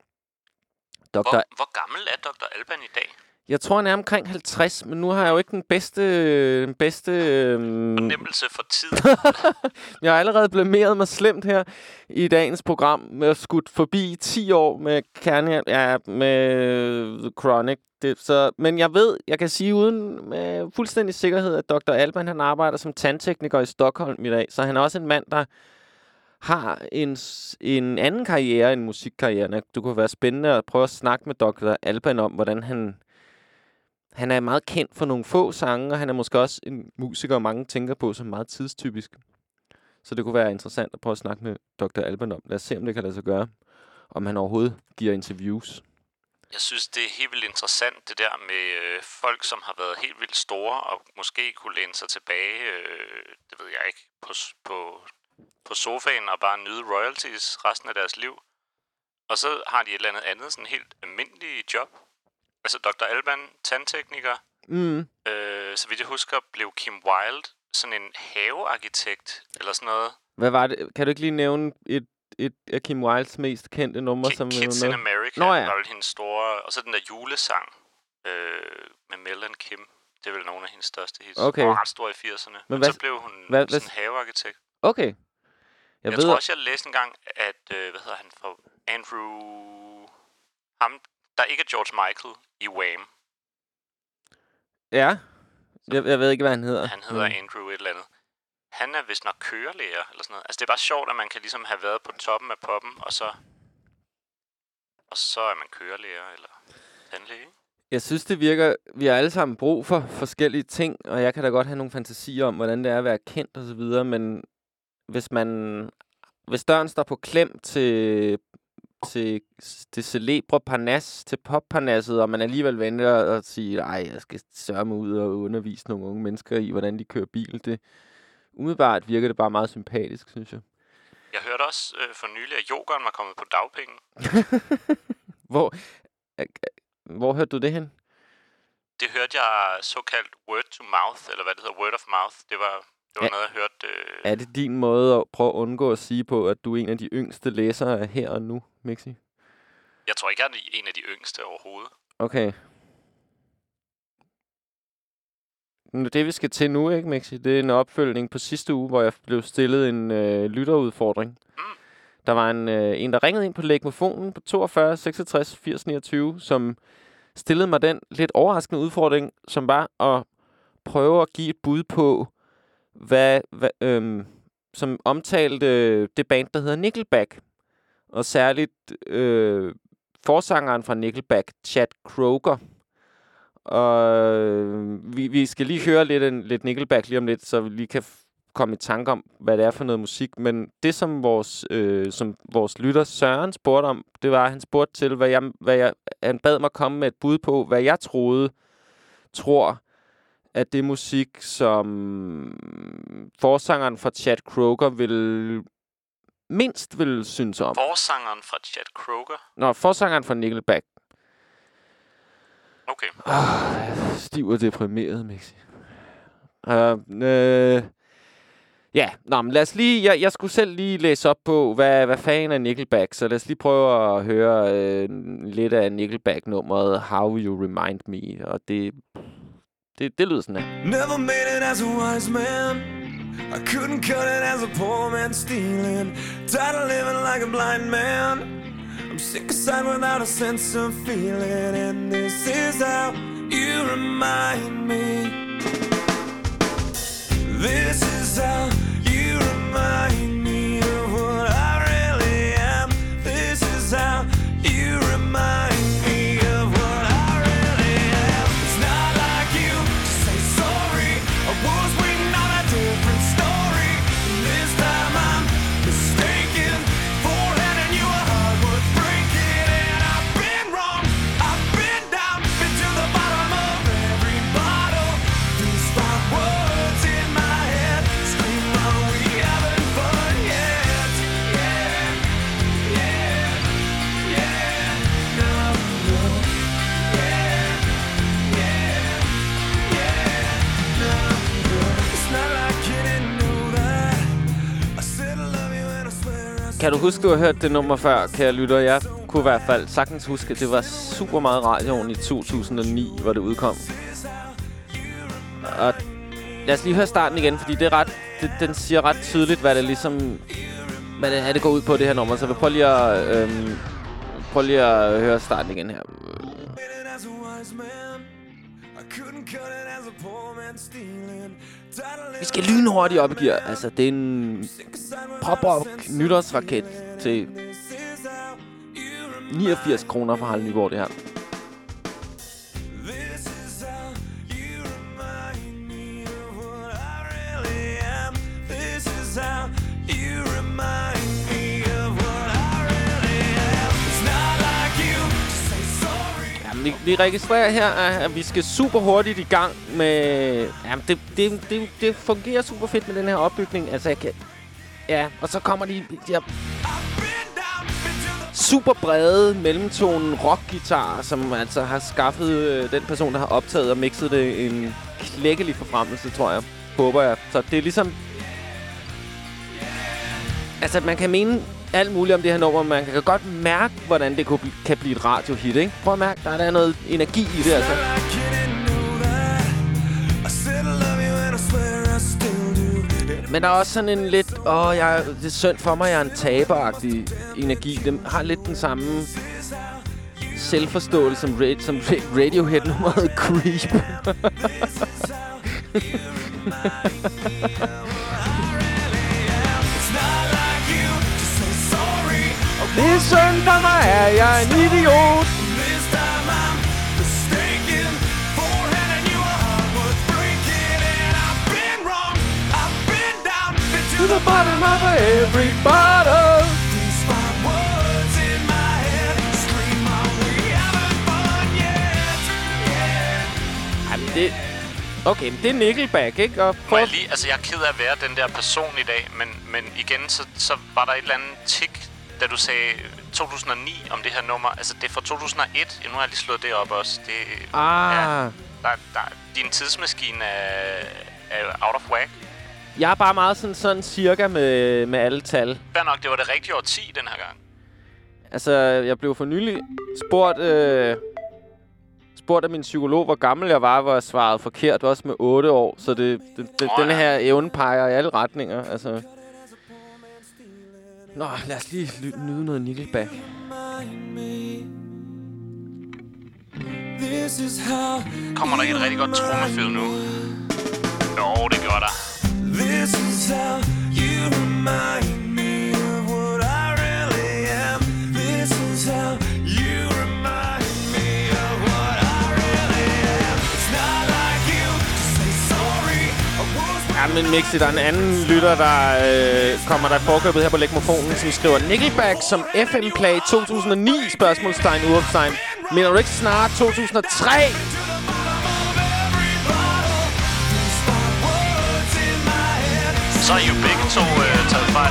Speaker 3: doktor
Speaker 2: Hvor, hvor gammel er doktor Alban i dag?
Speaker 3: Jeg tror, han er omkring halvtreds, men nu har jeg jo ikke den bedste... Den bedste øh...
Speaker 2: fornemmelse for tid.
Speaker 3: Jeg har allerede blameret mig slemt her i dagens program med at skudt forbi ti år med kerne, ja, med The Chronic. Det, så, men jeg ved, jeg kan sige uden med fuldstændig sikkerhed, at doktor Alban, han arbejder som tandtekniker i Stockholm i dag. Så han er også en mand, der har en, en anden karriere end musikkarrieren. Det kunne være spændende at prøve at snakke med doktor Alban om, hvordan han... Han er meget kendt for nogle få sange, og han er måske også en musiker, mange tænker på som meget tidstypisk. Så det kunne være interessant at prøve at snakke med doktor Alban om. Lad os se, om det kan lade sig gøre. Om han overhovedet giver interviews.
Speaker 2: Jeg synes, det er helt vildt interessant, det der med øh, folk, som har været helt vildt store, og måske kunne læne sig tilbage, øh, det ved jeg ikke, på, på, på sofaen og bare nyde royalties resten af deres liv. Og så har de et eller andet andet, sådan helt almindeligt job. Altså doktor Alban, tandtekniker.
Speaker 3: Mm.
Speaker 2: Øh, så vidt jeg husker, blev Kim Wilde sådan en havearkitekt, eller sådan noget.
Speaker 3: Hvad var det? Kan du ikke lige nævne et, et af Kim Wildes mest kendte numre?
Speaker 2: K-
Speaker 3: som
Speaker 2: Kids in America.
Speaker 3: Nå, ja.
Speaker 2: Var vel hendes store... Og så den der julesang øh, med Mel and Kim. Det er vel nogle af hendes største hits.
Speaker 3: Okay.
Speaker 2: Hun var ret stor i firserne. Men, Men hvad, så blev hun hvad, sådan en havearkitekt.
Speaker 3: Okay. Jeg,
Speaker 2: jeg
Speaker 3: ved...
Speaker 2: tror også, jeg læste engang, at... Øh, hvad hedder han for... Andrew... Ham... Der ikke er George Michael i Wham.
Speaker 3: Ja. Jeg, jeg ved ikke, hvad han hedder.
Speaker 2: Han hedder mm. Andrew et eller andet. Han er vist nok kørelærer, eller sådan noget. Altså, det er bare sjovt, at man kan ligesom have været på toppen af poppen, og så... Og så er man kørelærer, eller tandlæge.
Speaker 3: Jeg synes, det virker... Vi har alle sammen brug for forskellige ting, og jeg kan da godt have nogle fantasier om, hvordan det er at være kendt og så videre, men hvis man... Hvis døren står på klem til... til det celebre parnas, til popparnasset, og man alligevel venter og siger, ej, jeg skal sørge mig ud og undervise nogle unge mennesker i, hvordan de kører bil. Det, umiddelbart virker det bare meget sympatisk, synes jeg.
Speaker 2: Jeg hørte også øh, for nylig, at yoghurt var kommet på dagpenge.
Speaker 3: hvor, øh, hvor hørte du det hen?
Speaker 2: Det hørte jeg såkaldt word to mouth, eller hvad det hedder, word of mouth. Det var, det var
Speaker 3: er,
Speaker 2: noget, jeg hørte... Øh...
Speaker 3: Er det din måde at prøve at undgå at sige på, at du er en af de yngste læsere af Her og Nu, Mixi?
Speaker 2: Jeg tror ikke, jeg er en af de yngste overhovedet.
Speaker 3: Okay. Det, vi skal til nu, ikke, Mixi? Det er en opfølgning på sidste uge, hvor jeg blev stillet en øh, lytterudfordring. Mm. Der var en, øh, en, der ringede ind på lægmofonen på toogfyrre seksogtres firs niogtyve, som stillede mig den lidt overraskende udfordring, som var at prøve at give et bud på, hvad, hvad øhm, som omtalte det band, der hedder Nickelback. Og særligt øh, forsangeren fra Nickelback, Chad Kroeger. Og øh, vi, vi skal lige høre lidt, en, lidt Nickelback lige om lidt, så vi lige kan f- komme i tanke om, hvad det er for noget musik. Men det, som vores, øh, som vores lytter Søren spurgte om, det var, at han spurgte til, hvad jeg, hvad jeg, han bad mig komme med et bud på, hvad jeg troede, tror, at det musik, som forsangeren fra Chad Kroeger vil mindst vil synes om.
Speaker 2: Forsangeren fra Chad Kroeger?
Speaker 3: Nå, forsangeren fra Nickelback.
Speaker 2: Okay.
Speaker 3: Ah, jeg er stiv og deprimeret, Mixi. Uh, øh, Ja, nå, men lad os lige... Jeg, jeg skulle selv lige læse op på, hvad, hvad fanden er Nickelback, så lad os lige prøve at høre øh, lidt af Nickelback-nummeret How You Remind Me, og det... Det, det lyder sådan her.
Speaker 13: Never made it as a wise man. I couldn't cut it as a poor man stealing. Tired of living like a blind man. I'm sick aside without a sense of feeling. And this is how you remind me. This is how you remind me of what I really am. This is how you remind me of what I really am. It's not like you to say sorry. I was waiting on a different story. And this time I'm mistaken for handing you a heart worth breaking. And I've been wrong, I've been down, been to the bottom of every bottle. These five words in my head scream, are we having fun yet? Yeah, yeah, yeah, no, no. Yeah, yeah, yeah, no, no. It's not like you didn't know that. I said I love you and I swear I
Speaker 3: Kan du huske, du har hørt det nummer før, kære lytter? Jeg kunne i hvert fald sagtens huske, at det var super meget radioen i to tusind og ni, hvor det udkom. Og lad os lige høre starten igen, fordi det er ret, det, den siger ret tydeligt, hvad det ligesom, hvad det er, det går ud på, det her nummer. Så vi prøver lige at, øhm, prøv lige at høre starten igen her. Vi skal lynhurtigt op i gear. Altså, det er en pop-up nytårsraket til niogfirs kroner fra Harald Nyborg, det her. Vi, vi registrerer her, at vi skal super hurtigt i gang med... Jamen, det, det, det, det fungerer super fedt med den her opbygning. Altså, jeg kan... Ja, og så kommer de... de her super brede mellemtonen rockguitar, som altså har skaffet øh, den person, der har optaget og mixet det en klækkelig forfremmelse, tror jeg. Håber jeg. Så det er ligesom... Altså, man kan mene alt muligt om det her nummer, man kan godt mærke, hvordan det kan blive et radiohit, ikke? Prøv at mærke, der er der noget energi i det, altså. Men der er også sådan en lidt, åh, jeg, det er synd for mig, jeg er en taberagtig energi. Den har lidt den samme selvforståelse som, ra- som ra- Radiohead-nummeret Creep. Det er synd for mig, er jeg en idiot. To the bottom of every bottle. These five words in my head scream, are we having fun yet? Yeah. Jamen det... Okay, men det er Nickelback, ikke? Og
Speaker 2: Må jeg lige... Altså, jeg er ked af at være den der person i dag, men, men igen, så, så var der et eller andet tik, da du sagde to tusind og ni om det her nummer. Altså, det er fra to tusind og et. Ja, nu har jeg lige slået det op også. Det,
Speaker 3: ah.
Speaker 2: Ja, der, der, din tidsmaskine er, er out of whack.
Speaker 3: Jeg er bare meget sådan, sådan cirka med, med alle tal.
Speaker 2: Fair nok, det var det rigtige årti den her gang.
Speaker 3: Altså, jeg blev for nylig spurgt, øh, spurgt af min psykolog, hvor gammel jeg var, hvor jeg svarede forkert, også med otte år. Så det, det, det, oh, denne ja. her evne peger i alle retninger. Altså. Nå, lad os lige nyde noget Nickelback.
Speaker 2: Kommer der ikke et rigtig godt trommefed nu? Jo, det gør der.
Speaker 13: This is how you remind me of what I really am. This is how you remind me of what I really am. It's not like you to say sorry.
Speaker 3: Ja, men Mixi, der er en anden lytter, der øh, kommer der i forkøbet her på Legmofonen, som skriver Nickelback som F M-play to tusind og ni, spørgsmålstegn, udopstegn. Mener du ikke snart to tusind og tre?
Speaker 2: Så er I jo begge to øh, taget fejl.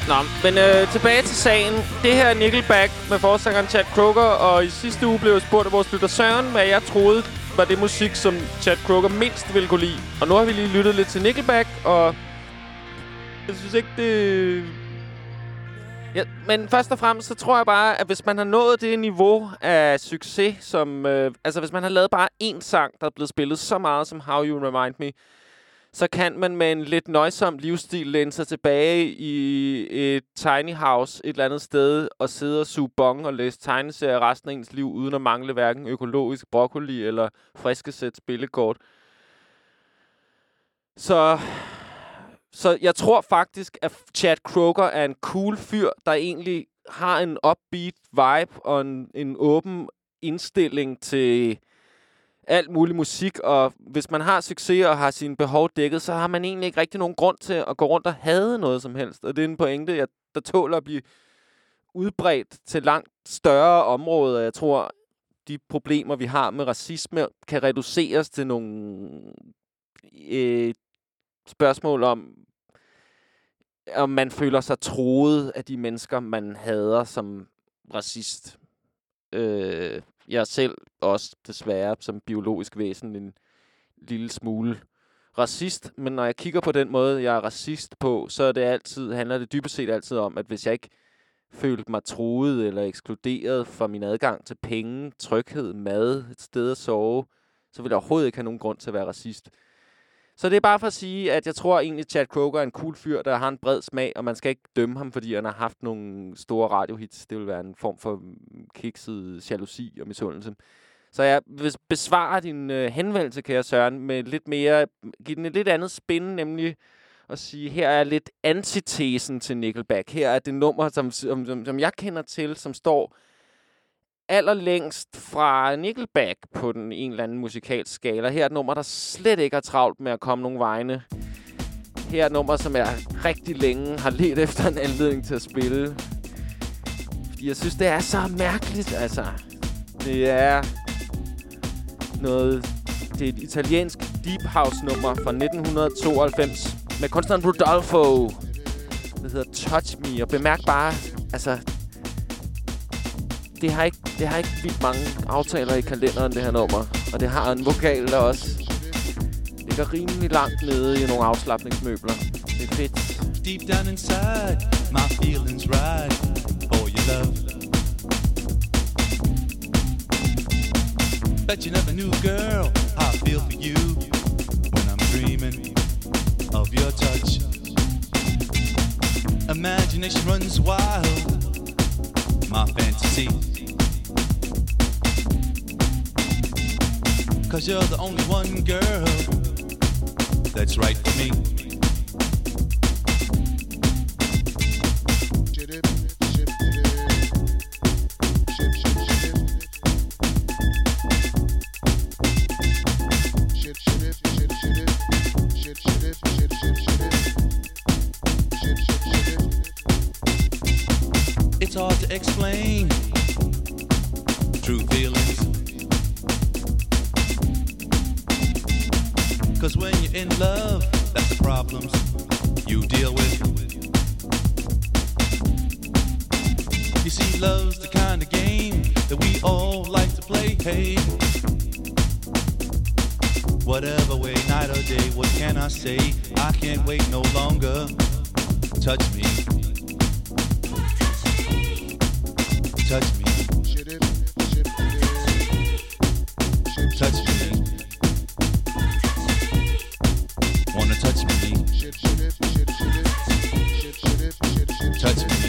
Speaker 3: Nå, men øh, tilbage til sagen. Det her er Nickelback med forsangeren Chad Kroeger, og i sidste uge blev jeg spurgt af vores lytter Søren, hvad jeg troede var det musik, som Chad Kroeger mindst ville kunne lide. Og nu har vi lige lyttet lidt til Nickelback, og jeg synes ikke, det... Ja, men først og fremmest, så tror jeg bare, at hvis man har nået det niveau af succes, som... Øh, altså, hvis man har lavet bare én sang, der er blevet spillet så meget som How You Remind Me, så kan man med en lidt nøjsom livsstil læne sig tilbage i et tiny house et eller andet sted og sidde og suge bong og læse tegneserier resten af ens liv, uden at mangle hverken økologisk broccoli eller friske sæt spillekort. Så, så jeg tror faktisk, at Chad Kroeger er en cool fyr, der egentlig har en upbeat vibe og en, en åben indstilling til alt mulig musik, og hvis man har succes og har sine behov dækket, så har man egentlig ikke rigtig nogen grund til at gå rundt og hade noget som helst. Og det er en pointe, jeg, der tåler at blive udbredt til langt større områder. Jeg tror, de problemer, vi har med racisme, kan reduceres til nogle øh, spørgsmål om, om man føler sig troet af de mennesker, man hader som racist. Øh, jeg er selv også desværre som biologisk væsen en lille smule racist, men når jeg kigger på den måde, jeg er racist på, så er det altid, handler det dybest set altid om, at hvis jeg ikke følte mig truet eller ekskluderet fra min adgang til penge, tryghed, mad, et sted at sove, så vil jeg overhovedet ikke have nogen grund til at være racist. Så det er bare for at sige, at jeg tror egentlig, at Chad Kroeger er en cool fyr, der har en bred smag, og man skal ikke dømme ham, fordi han har haft nogle store radiohits. Det vil være en form for kikset jalousi og misundelse. Så jeg vil besvare din øh, henvendelse, kære Søren, med lidt mere, give den et lidt andet spin, nemlig at sige, her er lidt antitesen til Nickelback. Her er det nummer, som, som, som, som jeg kender til, som står allerlængst fra Nickelback på den en eller anden musikalsk skala. Her er et nummer, der slet ikke er travlt med at komme nogen vegne. Her er et nummer, som jeg rigtig længe har let efter en anledning til at spille. Fordi jeg synes, det er så mærkeligt, altså. Det er noget... Det er et italiensk deep house nummer fra nitten tooghalvfems med kunstneren Rodolfo. Det hedder Touch Me, og bemærk bare, altså... Det har ikke, det har ikke vildt mange aftaler i kalenderen, det her nummer. Og det har en vokal, der også ligger rimelig langt nede i nogle afslapningsmøbler. Det er fedt.
Speaker 14: Deep down inside, my feelings right for your love. Bet you never knew, girl, how I feel for you when I'm dreaming of your touch. Imagination runs wild, my fantasy. Cause you're the only one, girl, that's right for me. It's hard to explain true feelings, cause when you're in love, that's the problems you deal with. You see, love's the kind of game that we all like to play. Hey, whatever way, night or day, what can I say? I can't wait no longer. Touch me. Touch me. Touch me. Wanna touch me? Touch me.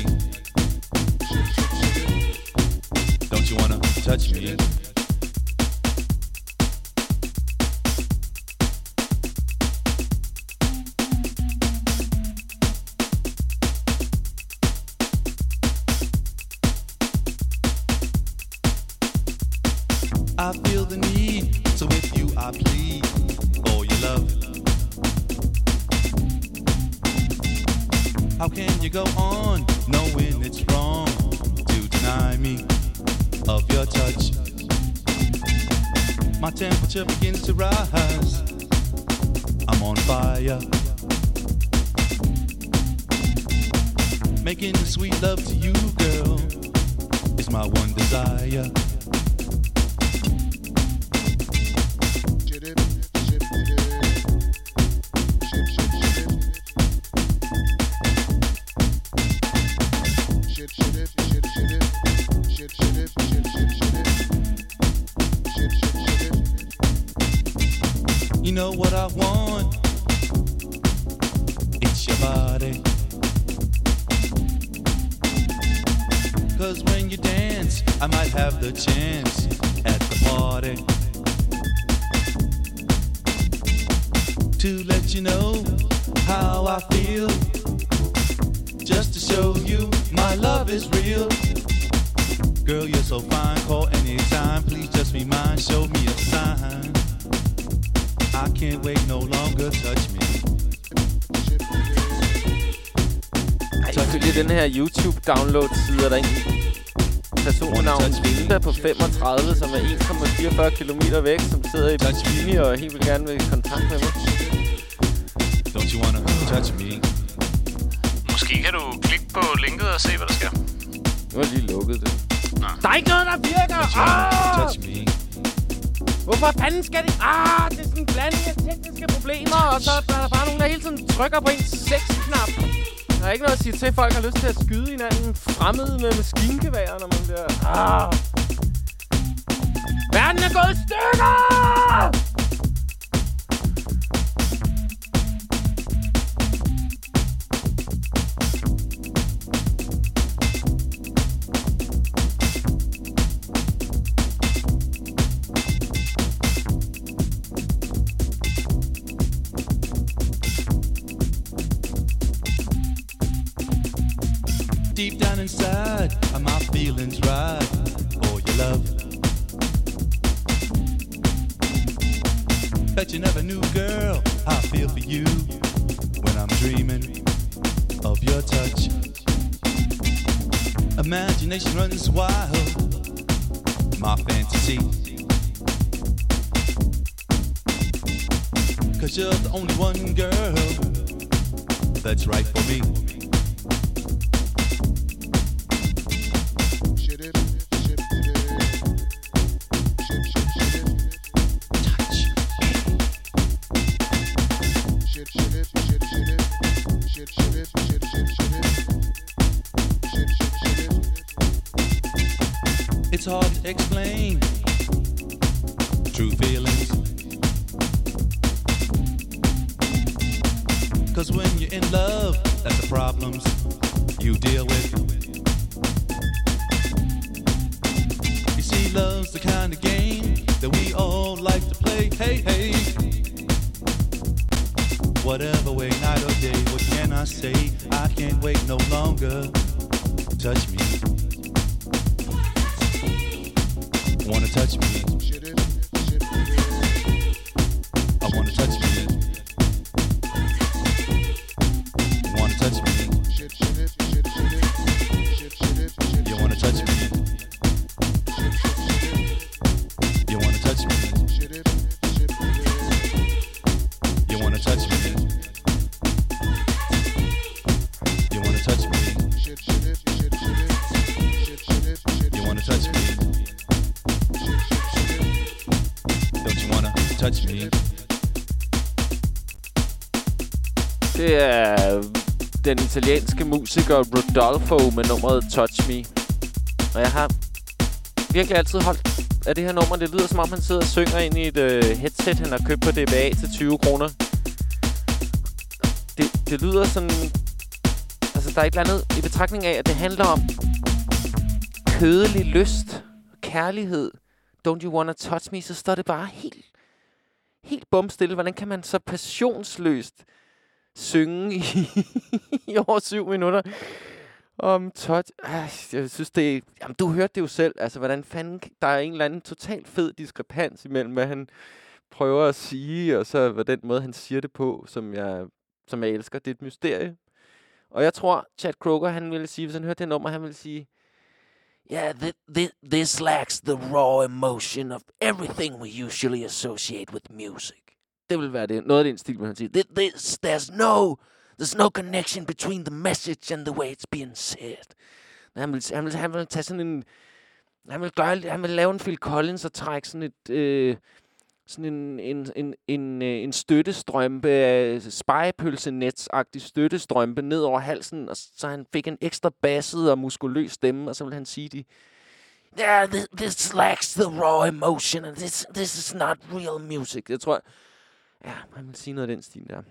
Speaker 14: Don't you wanna touch me? I feel the need, so with you I plead for your love. How can you go on knowing it's wrong to deny me of your touch? My temperature begins to rise, I'm on fire. Making sweet love to you, girl, is my one desire. You know what I want? It's your body. Cause when you dance, I might have the chance at the party to let you know how I feel. Just to show you my love is real. Girl, you're so fine, call anytime. Please just be mine, show me a sign. I can't wait no longer, touch me.
Speaker 3: Ej, ifølge den her YouTube-download-side er der en person med navn Vinda på femogtredive, som er en komma fireogfyrre kilometer væk, som sidder i bikini og helt vil gerne vil i kontakt med mig.
Speaker 14: Don't you wanna touch me?
Speaker 2: Måske kan du klikke på linket og se, hvad der sker.
Speaker 3: Nu har lige lukket det.
Speaker 2: Nå.
Speaker 3: Der er ikke noget, der virker! Ah!
Speaker 14: Touch me.
Speaker 3: Hvorfor fanden skal det? Ah, det er sådan en blanding af tekniske problemer, og så er der bare nogen, der hele tiden trykker på en sexknap. Der er ikke noget at sige til, at folk har lyst til at skyde hinanden fremmede med maskingevær, når man bliver... Ah. Verden er gået i stykker!
Speaker 14: Deep down inside, are my feelings right for your love? Bet you never knew, girl, how I feel for you when I'm dreaming of your touch. Imagination runs wild, my fantasy. Cause you're the only one, girl, that's right for me. It's hard to explain true feelings, cause when you're in love, that's the problems you deal with. You see, love's the kind of game that we all like to play. Hey, hey, whatever way, night or day, what can I say? I can't wait no longer. Touch me. Wanna touch me? I wanna touch me. Wanna touch me? You wanna touch me? You wanna touch me? You wanna touch me? You wanna touch me? You wanna touch me? Touch me.
Speaker 3: Det er den italienske musiker Rodolfo med nummeret Touch Me. Og jeg har virkelig altid holdt af det her nummer. Det lyder som om han sidder og synger ind i et uh, headset, han har købt på D B A til tyve kroner. Det, det lyder sådan... Altså, der er et eller andet i betragtning af, at det handler om kødelig lyst, kærlighed. Don't you wanna touch me? Så står det bare helt... helt bumstille. Hvordan kan man så passionsløst synge i, i over syv minutter om touch? Ej, jeg synes, det er... Jamen, du hørte det jo selv. Altså, hvordan fanden... Der er en eller anden totalt fed diskrepans imellem, hvad han prøver at sige, og så hvad den måde, han siger det på, som jeg, som jeg elsker. Det er et mysterie. Og jeg tror, Chad Kroeger, han ville sige, hvis han hørte det nummer, han ville sige... Yeah, th th this lacks the raw emotion of everything we usually associate with music. Det vil være det. Noget af den stil, man siger. This, there's no, There's no connection between the message and the way it's being said. Han vil, han vil, han vil tage sådan en... Han vil, gøre, han vil lave en Phil Collins og trække sådan et... Øh, sådan en, en, en, en, en støttestrømpe, spejepølsenets-agtig støttestrømpe ned over halsen, og så han fik en ekstra basset og muskuløs stemme, og så vil han sige de... Yeah, this, this lacks the raw emotion, and this, this is not real music. Jeg tror... Ja, han vil sige noget af den stil der.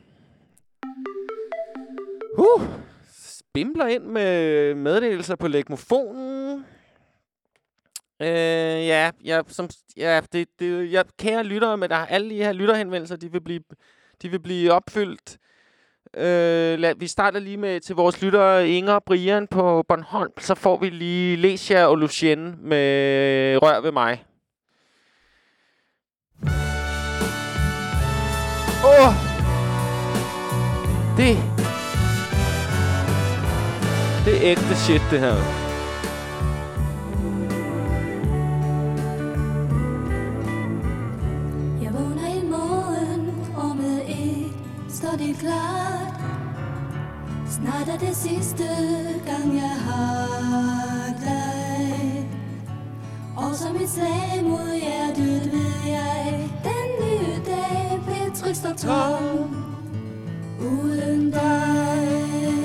Speaker 3: Uh, Bimler ind med meddelelser på legmofonen. Øh, ja, ja, som, ja, det, det, jeg, kære lyttere, med der alle de her lytterhenvendelser, de vil blive, de vil blive opfyldt. Øh, lad, vi starter lige med til vores lyttere Inger og Brian på Bornholm, så får vi lige Lesia og Lucien med Rør ved mig. Åh! Oh! Det... Det er ægte shit, det her.
Speaker 15: Jeg vågner i morgen, rummet et, står det klart. Snart er det sidste gang, jeg har dig. Og som et slag mod hjertet ved jeg, den nye dag bliver trist og tom uden dig.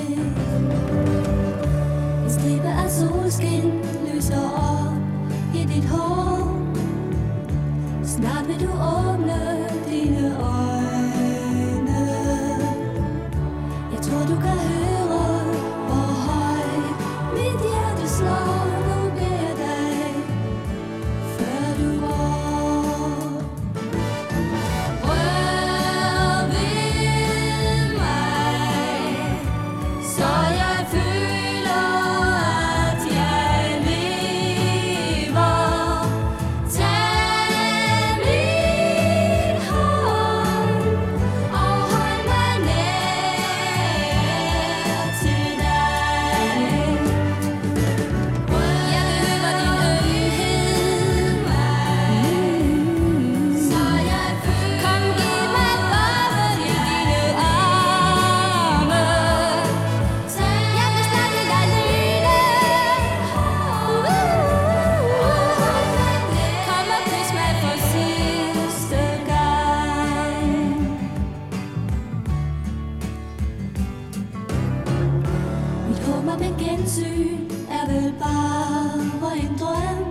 Speaker 15: En stribe af solskin lyser op i dit hår. Snart vil du åbne dine øjne. Jeg tror du kan høre, hvor højt mit hjerte slår. Nu beder jeg dig, før du går. Rør ved mig, så jeg føler, at jeg lever. Tag min hånd og hold mig nær til dig. Jeg behøver din ømhed, så jeg føler. Kom, giv mig bare i dine arme. Jeg vil snakke dig lyne. Kom og kys mig for sidste gang. Mit håb om et gensyn er vel bare en drøm.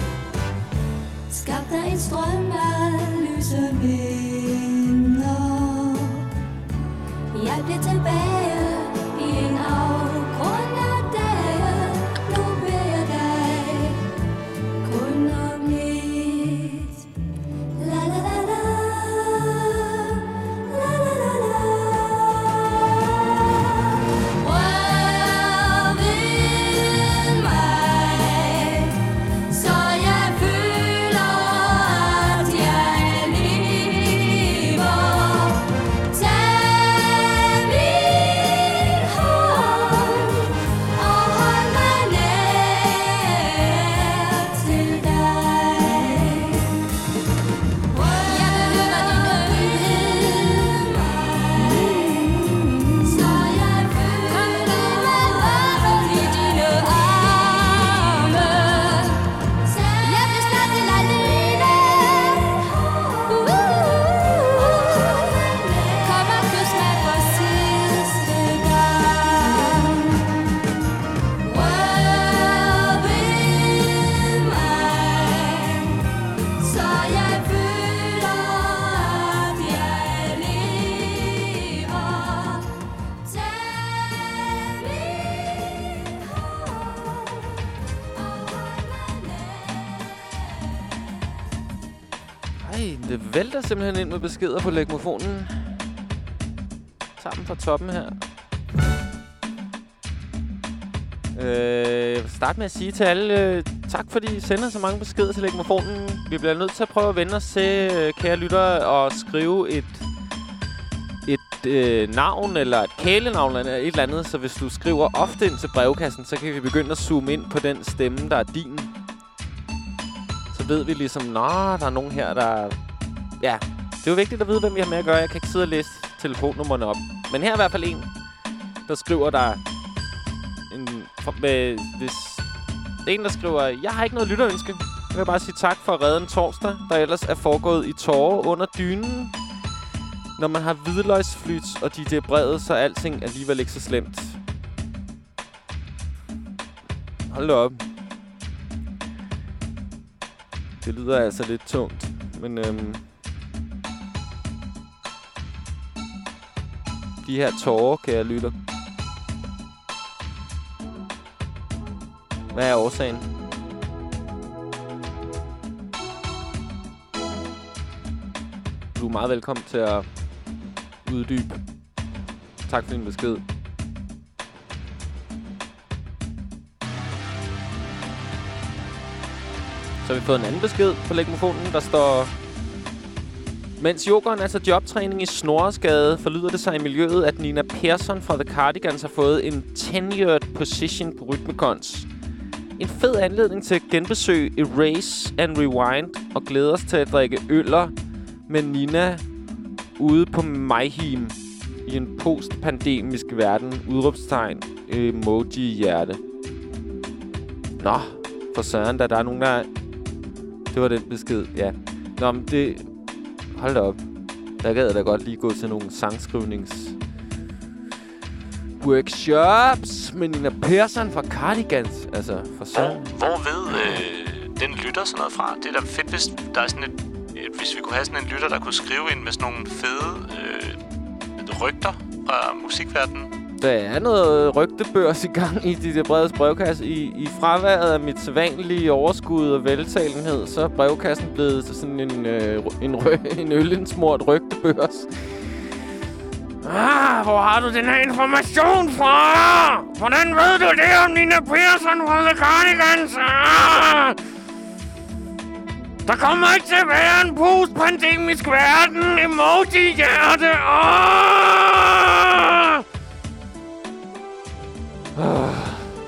Speaker 15: Skab dig en strøm af lyse minder. Jeg bliver tilbage i en afgrund af dage. Nu beder jeg dig kun om lidt. La la la la, la la la la. Rør ved mig, så jeg føler, at jeg lever. Tag min hånd og hold mig nær til dig. Jeg behøver din ømhed, så jeg føler. Kom, giv mig bare i dine arme. Jeg vil snakke dig lyne. Kom og kys mig for sidste gang. Rør ved mig, så jeg føler, at jeg lever. Tag min hånd og hold mig nær.
Speaker 3: Ej, det vælter simpelthen ind med beskeder på legmofonen. Sammen fra toppen her. Øh, jeg vil starte med at sige til alle, øh, tak fordi I sender så mange beskeder til legmofonen. Vi bliver nødt til at prøve at vende os til, øh, kære lyttere, og skrive et, et øh, navn eller et kælenavn eller et eller andet. Så hvis du skriver ofte ind til brevkassen, så kan vi begynde at zoome ind på den stemme, der er din. Så ved vi ligesom, nå, der er nogen her, der... Ja, det er jo vigtigt at vide, hvem vi har med at gøre. Jeg kan ikke sidde og læse telefonnummerne op. Men her er i hvert fald en. der skriver der en, med, hvis det er en, der skriver, jeg har ikke noget lytterønske. Jeg vil bare sige tak for at redde en torsdag, der ellers er foregået i tårer under dynen. Når man har hvidløgsflyt og D J Brevet, så er alting alligevel ikke så slemt. Hold da op. Det lyder altså lidt tungt, men øhm, de her tårer, kan jeg lytte. Hvad er årsagen? Du er meget velkommen til at uddybe. Tak for din besked. Så har vi fået en anden besked på legmofonen, der står: mens yoghurten er til jobtræning i Snoresgade, forlyder det sig i miljøet, at Nina Persson fra The Cardigans har fået en tenured position på Rytmekons. En fed anledning til at genbesøge Erase and Rewind og glæder os til at drikke øller med Nina ude på Mayhem i en postpandemisk verden. Udråbstegn, emoji-hjerte. Nå, for søren, da der er nogen, der... Det var den besked, ja. Nå, men det... Hold da op. Der gad jeg da godt lige gå til nogle sangskrivnings... workshops med Nina Persson fra Cardigans. Altså, for søren.
Speaker 2: Hvor, hvor ved øh, den lytter sådan noget fra? Det er da fedt, hvis der er sådan et... et hvis vi kunne have sådan en lytter, der kunne skrive ind med sådan nogle fede øh, rygter fra musikverdenen.
Speaker 3: Der er noget rygtebørs i gang i de der Bredes brevkasse. I, I fraværet af mit sædvanlige overskud og veltalenhed, så er brevkassen blevet sådan en, øh, en, rø- en ølindsmurt rygtebørs. Ah, hvor har du den her information fra? Hvordan ved du det om Nina Persson fra The Cardigans? Ah! Der kommer ikke til at være en postpandemisk verden. Emoji-hjerte. Ah! Ah.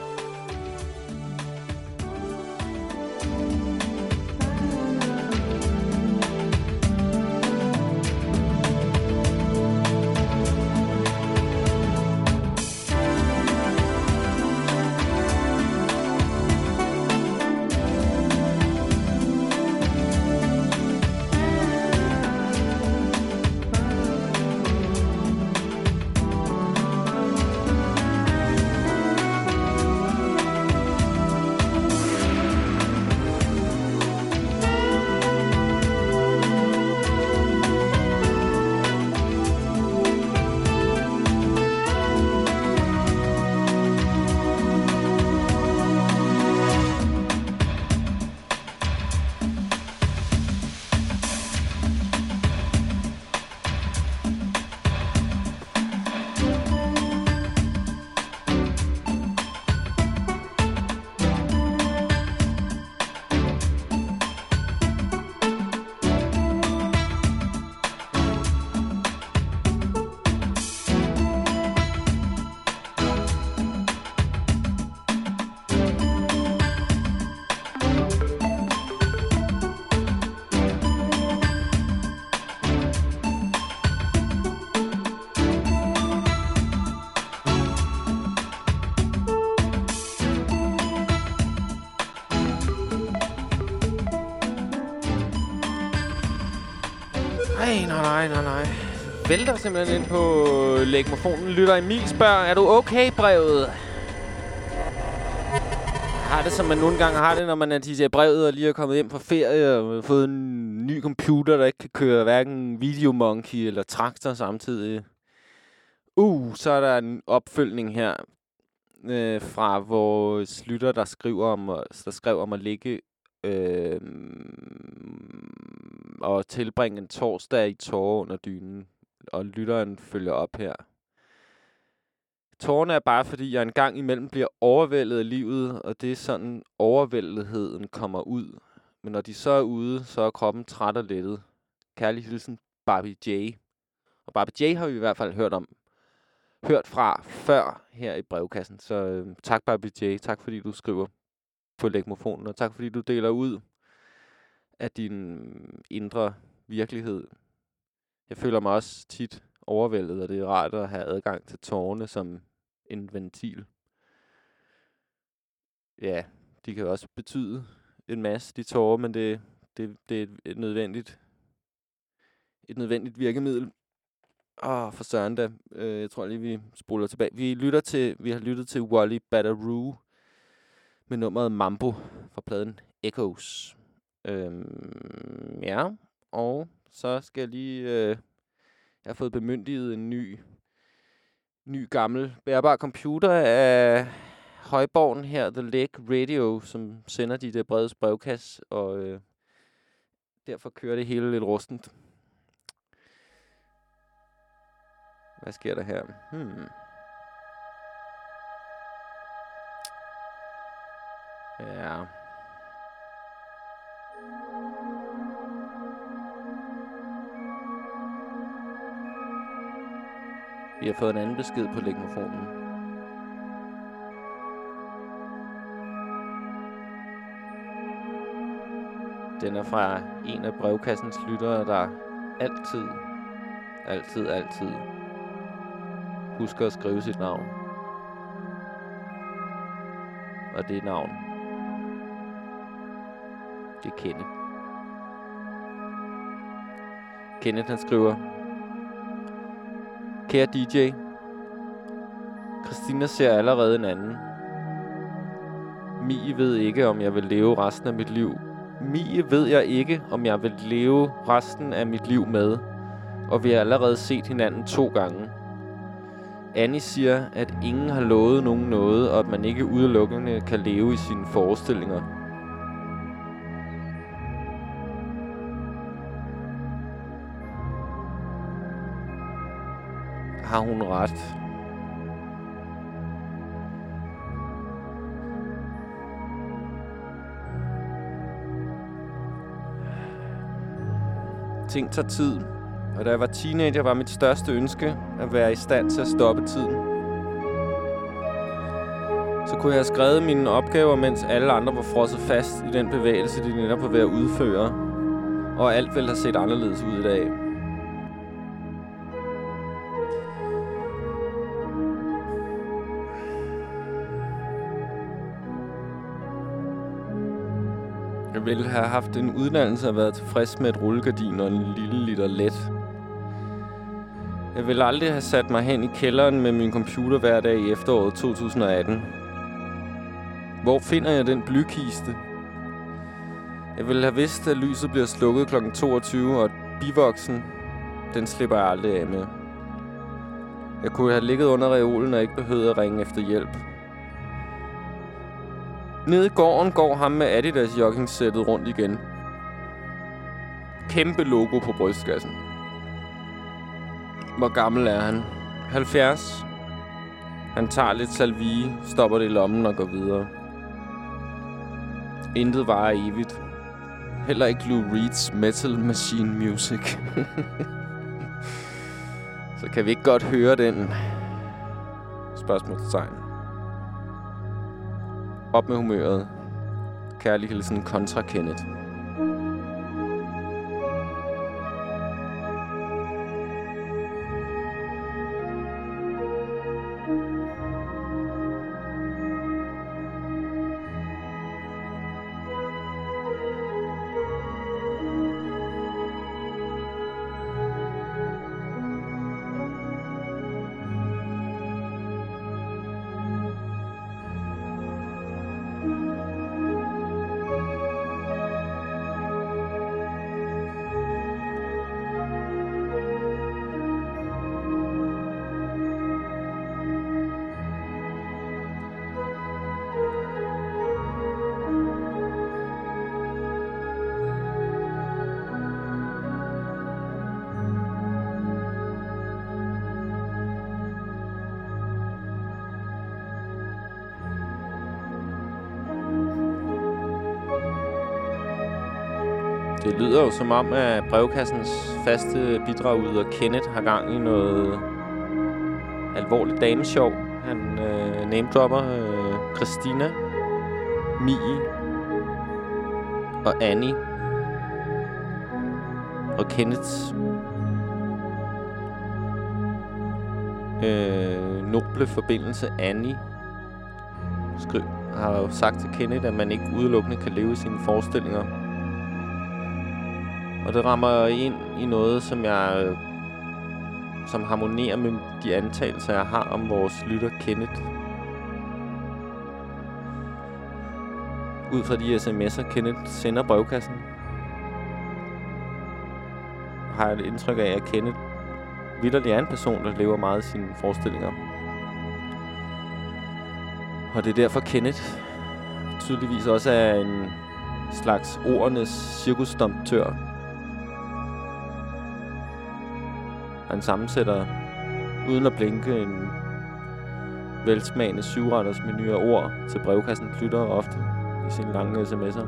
Speaker 3: Nej, nej, nej, nej, nej. Vælter simpelthen ind på legmofonen. Lytter Emil spørger, er du okay, Brevet? Jeg har det, som man nogle gange har det, når man er D J Brevet og lige er kommet hjem fra ferie og har fået en ny computer, der ikke kan køre hverken Videomonkey eller Traktor samtidig. Uh, så er der en opfølgning her øh, fra vores lytter, der skriver om, der skrev om at ligge øh, og tilbringe en torsdag i tårer under dynen. Og lytteren følger op her. Tårerne er bare, fordi jeg engang imellem bliver overvældet af livet, og det er sådan, overvældetheden kommer ud. Men når de så er ude, så er kroppen træt og lettet. Kærlig hilsen, Barbie J. Og Barbie J har vi i hvert fald hørt om, hørt fra før her i brevkassen. Så øh, tak, Barbie J. Tak, fordi du skriver på legmofonen, og tak, fordi du deler ud af din indre virkelighed. Jeg føler mig også tit overvældet, og det er rart at have adgang til tårerne, som en ventil. Ja, de kan også betyde en masse, de tårer, men det, det, det er et nødvendigt, et nødvendigt virkemiddel. Åh, for søren da. Øh, jeg tror lige, vi spoler tilbage. Vi, lytter til, vi har lyttet til Wally Badaroo med nummeret Mambo fra pladen Echoes. Øhm, ja, og så skal jeg lige... Øh, jeg har fået bemyndiget en ny, ny gammel bærbar computer af højborgen her, The Lake Radio, som sender de der brede brevkasse, og øh, derfor kører det hele lidt rustent. Hvad sker der her? Hmm. Ja. Vi har fået en anden besked på legmofonen. Den er fra en af brevkassens lyttere, der altid, altid, altid husker at skrive sit navn. Og det navn, det er Kenneth. Kenneth, han skriver: Kære D J, Christina ser allerede en anden. Mie ved ikke, om jeg vil leve resten af mit liv. Mie ved jeg ikke, om jeg vil leve resten af mit liv med. Og vi har allerede set hinanden to gange. Annie siger, at ingen har lovet nogen noget, og at man ikke udelukkende kan leve i sine forestillinger. Har hun ret? Ting tager tid, og da jeg var teenager, var mit største ønske at være i stand til at stoppe tiden. Så kunne jeg have skrevet mine opgaver, mens alle andre var frosset fast i den bevægelse, de netop var ved at udføre, og alt ville have set anderledes ud i dag. Jeg ville have haft en uddannelse og været tilfreds med et rullegardin og en lille liter let. Jeg ville aldrig have sat mig hen i kælderen med min computer hver dag i efteråret to tusind og atten. Hvor finder jeg den blykiste? Jeg ville have vidst, at lyset bliver slukket klokken toogtyve, og bivoksen, den slipper jeg aldrig af med. Jeg kunne have ligget under reolen og ikke behøvet at ringe efter hjælp. Nede i gården går ham med Adidas joggingsættet rundt igen. Kæmpe logo på brystkassen. Hvor gammel er han? halvfjerds. Han tager lidt salvie, stopper det i lommen og går videre. Intet varer evigt. Heller ikke Lou Reeds Metal Machine Music. Så kan vi ikke godt høre den? Spørgsmålstegn. Op med humøret. Kærlig hilsen kontra Kenneth. Det lyder jo som om, at brevkassens faste bidragyder Kenneth har gang i noget alvorligt dameshow. Han øh, namedropper øh, Christina, Mie og Annie. Og Kenneths øh, noble forbindelse Annie skri- har jo sagt til Kenneth, at man ikke udelukkende kan leve i sine forestillinger. Og det rammer ind i noget, som jeg øh, som harmonerer med de antagelser, jeg har om vores lytter Kenneth. Ud fra de sms'er, Kenneth sender brevkassen, har jeg et indtryk af, at Kenneth vitterlig er en person, der lever meget i sine forestillinger. Og det er derfor, Kenneth tydeligvis også er en slags ordernes cirkusdomptør. Han sammensætter, uden at blinke, en velsmagende syvretters menu af ord til brevkassen lytter ofte i sine lange sms'er.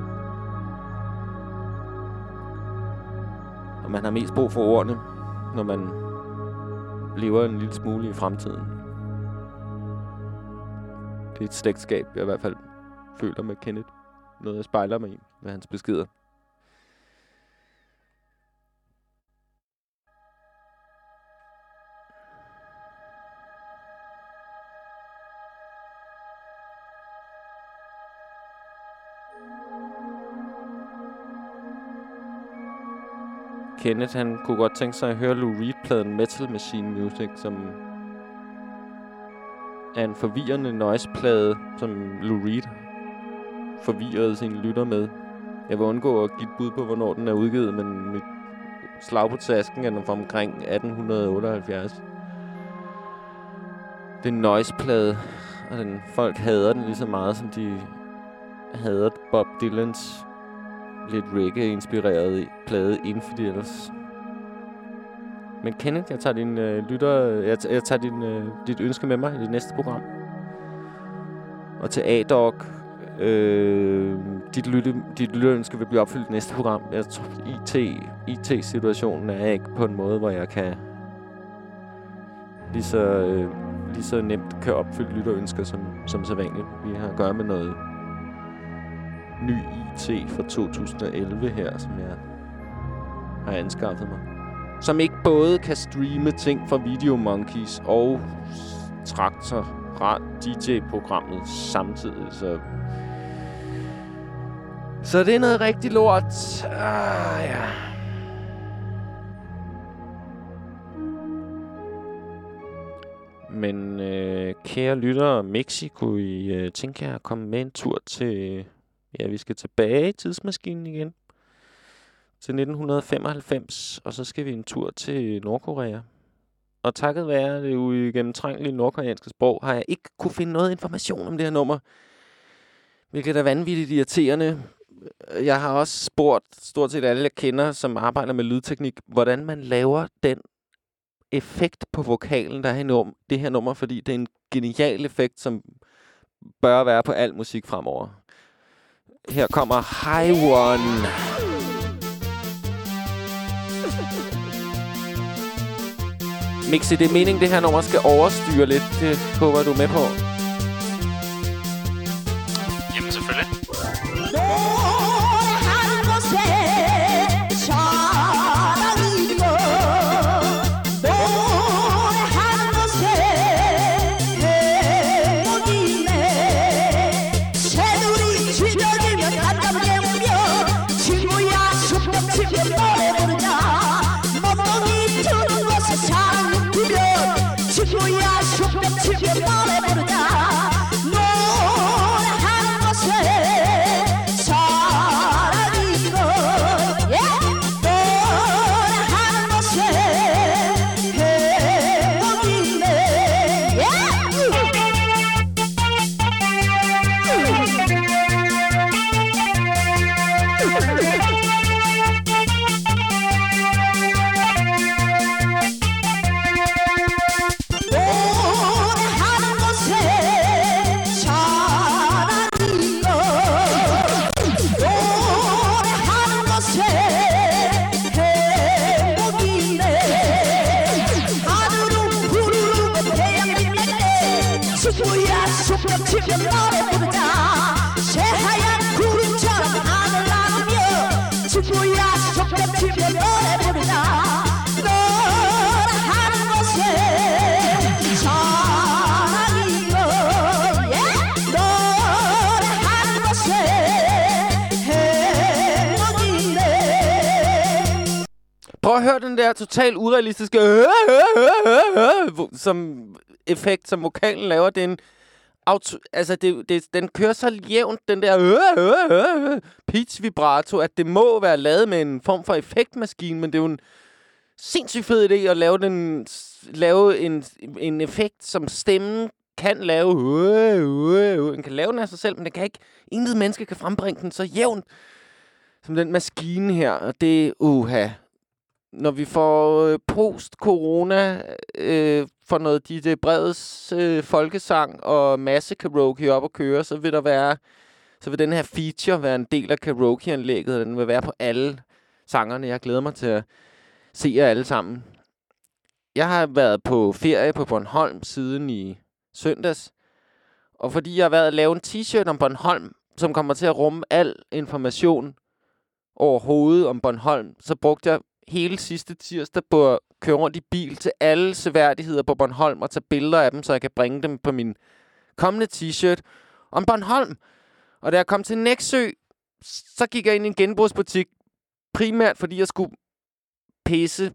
Speaker 3: Og man har mest brug for ordene, når man lever en lille smule i fremtiden. Det er et slægtskab, jeg i hvert fald føler med Kenneth. Noget, jeg spejler mig i med hans beskeder. Kenneth, han kunne godt tænke sig at høre Lou Reed-pladen Metal Machine Music, som er en forvirrende noise-plade, som Lou Reed forvirrede sine lytter med. Jeg vil undgå at give et bud på, hvornår den er udgivet, men mit slag på tasken er den fra omkring atten otteoghalvfjerds. Det er en noise-plade, og den, folk hader den lige så meget, som de hader Bob Dylans lidt reggae-inspireret plade Infidels. Men Kenneth, jeg tager din øh, lytter, jeg, t- jeg tager din, øh, dit ønske med mig i det næste program. Og til A-Dog, øh, dit, lytte, dit lytterønske vil blive opfyldt i næste program. Jeg tror, I T, I T-situationen er ikke på en måde, hvor jeg kan lige så, øh, lige så nemt kan opfylde lytterønsker som, som så vanligt. Vi har at gøre med noget ny I T fra to tusind og elleve her, som jeg har anskaffet mig. Som ikke både kan streame ting fra Video Monkeys og Traktor D J-programmet samtidig. Så, så det er noget rigtig lort. Ah, ja. Men øh, kære lyttere, Mexico, I øh, tænker jeg at komme med en tur til... Ja, vi skal tilbage i tidsmaskinen igen. Til nitten femoghalvfems, og så skal vi en tur til Nordkorea. Og takket være det uigennemtrængelige nordkoreanske sprog, har jeg ikke kunne finde noget information om det her nummer. Hvilket er vanvittigt irriterende. Jeg har også spurgt stort set alle, jeg kender, som arbejder med lydteknik, hvordan man laver den effekt på vokalen, der er i num- det her nummer, fordi det er en genial effekt, som bør være på al musik fremover. Her kommer High One. Mixi, det er meningen, det her nummer skal overstyre lidt. Det håber du med på.
Speaker 2: Jamen, selvfølgelig.
Speaker 16: 자
Speaker 3: at høre den der totalt urealistiske øh, øh, øh, øh, som effekt, som vokalen laver. Det er en auto, altså det, det, den kører så jævnt, den der øh, øh, øh, pitch vibrato, at det må være lavet med en form for effektmaskine, men det er jo en sindssygt fed idé at lave, den, lave en, en effekt, som stemmen kan lave. Øh, øh, øh. Den kan lave den af sig selv, men den kan ikke, intet menneske kan frembringe den så jævnt som den maskine her. Og det er uha. Når vi får øh, post-corona øh, for noget Ditte Breds øh, folkesang og masse karaoke op at køre, så vil der være, så vil den her feature være en del af karaoke-anlægget, og den vil være på alle sangerne. Jeg glæder mig til at se jer alle sammen. Jeg har været på ferie på Bornholm siden i søndags, og fordi jeg har været at lave en t-shirt om Bornholm, som kommer til at rumme al information overhovedet om Bornholm, så brugte jeg hele sidste tirsdag på at køre rundt i bil til alle seværdigheder på Bornholm og tage billeder af dem, så jeg kan bringe dem på min kommende t-shirt om Bornholm. Og da jeg kom til Nexø, så gik jeg ind i en genbrugsbutik, primært fordi jeg skulle pisse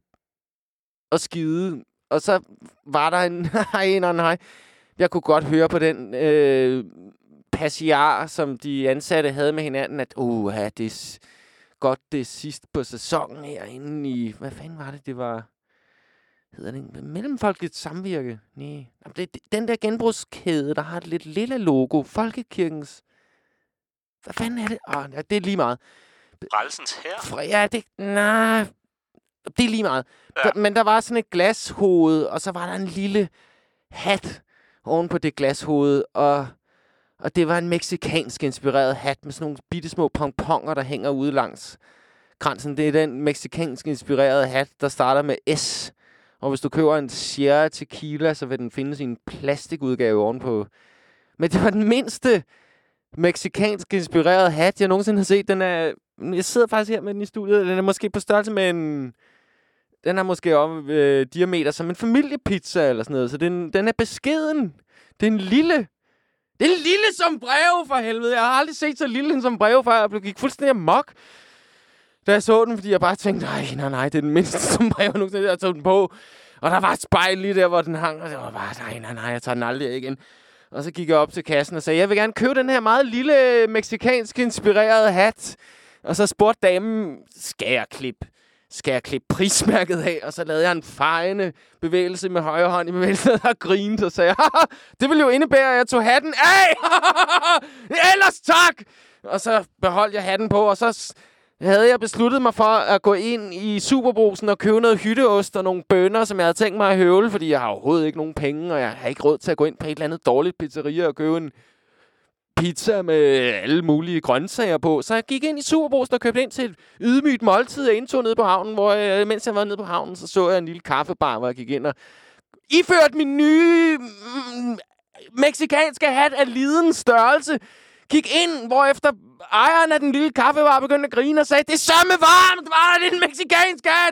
Speaker 3: og skide. Og så var der en... nej, nej, nej. Jeg kunne godt høre på den øh, passiar, som de ansatte havde med hinanden, at uh, det er godt det er sidst på sæsonen herinde i... Hvad fanden var det, det var... Hedder det Mellemfolkeligt Samvirke? Nej. Det, det, den der genbrugskæde, der har et lidt lille logo. Folkekirkens... Hvad fanden er det? Åh, oh, det er lige meget.
Speaker 2: Frelsens her?
Speaker 3: Ja, det... Nej... Det er lige meget. Ja. Men der var sådan et glashoved, og så var der en lille hat oven på det glashoved, og, og det var en mexikansk inspireret hat med sådan nogle bittesmå pomponger, der hænger ude langs kransen. Det er den mexikansk inspirerede hat, der starter med S. Og hvis du køber en Sierra Tequila, så vil den findes i en plastikudgave ovenpå. Men det var den mindste mexikansk inspirerede hat, jeg nogensinde har set. Den er... Jeg sidder faktisk her med den i studiet. Den er måske på størrelse med en... Den er måske om øh, diameter som en familiepizza eller sådan noget. Så den, den er beskeden. Det er en lille... Det er en lille som brev, for helvede. Jeg har aldrig set så lille som brev, før jeg gik fuldstændig amok, da jeg så den, fordi jeg bare tænkte, nej, nej, nej, det er den mindste som brev, jeg nogensinde har taget den på. Og der var et spejl lige der, hvor den hang, og det var bare, nej, nej, nej, jeg tager den aldrig igen. Og så gik jeg op til kassen og sagde, jeg vil gerne købe den her meget lille mexikansk inspirerede hat. Og så spurgte damen, skal jeg klippe? Skal jeg klippe prismærket af? Og så lavede jeg en fejende bevægelse med højre hånd i bevægelsen, og grinede og sagde, det ville jo indebære, at jeg tog hatten af! Ellers tak! Og så beholdt jeg hatten på, og så havde jeg besluttet mig for at gå ind i Superbrugsen og købe noget hytteost og nogle bønner, som jeg havde tænkt mig at høvle, fordi jeg har overhovedet ikke nogen penge, og jeg har ikke råd til at gå ind på et eller andet dårligt pizzeria og købe en pizza med alle mulige grøntsager på. Så jeg gik ind i Superbrugsen og købte ind til et ydmygt måltid. Jeg indtog nede på havnen, hvor jeg, mens jeg var nede på havnen, så så jeg en lille kaffebar, hvor jeg gik ind og iførte min nye mm, mexikanske hat af lidens størrelse. Gik ind, hvorefter ejeren af den lille kaffebar begyndte at grine og sagde, det er sørme varmt, var det en mexikansk hat?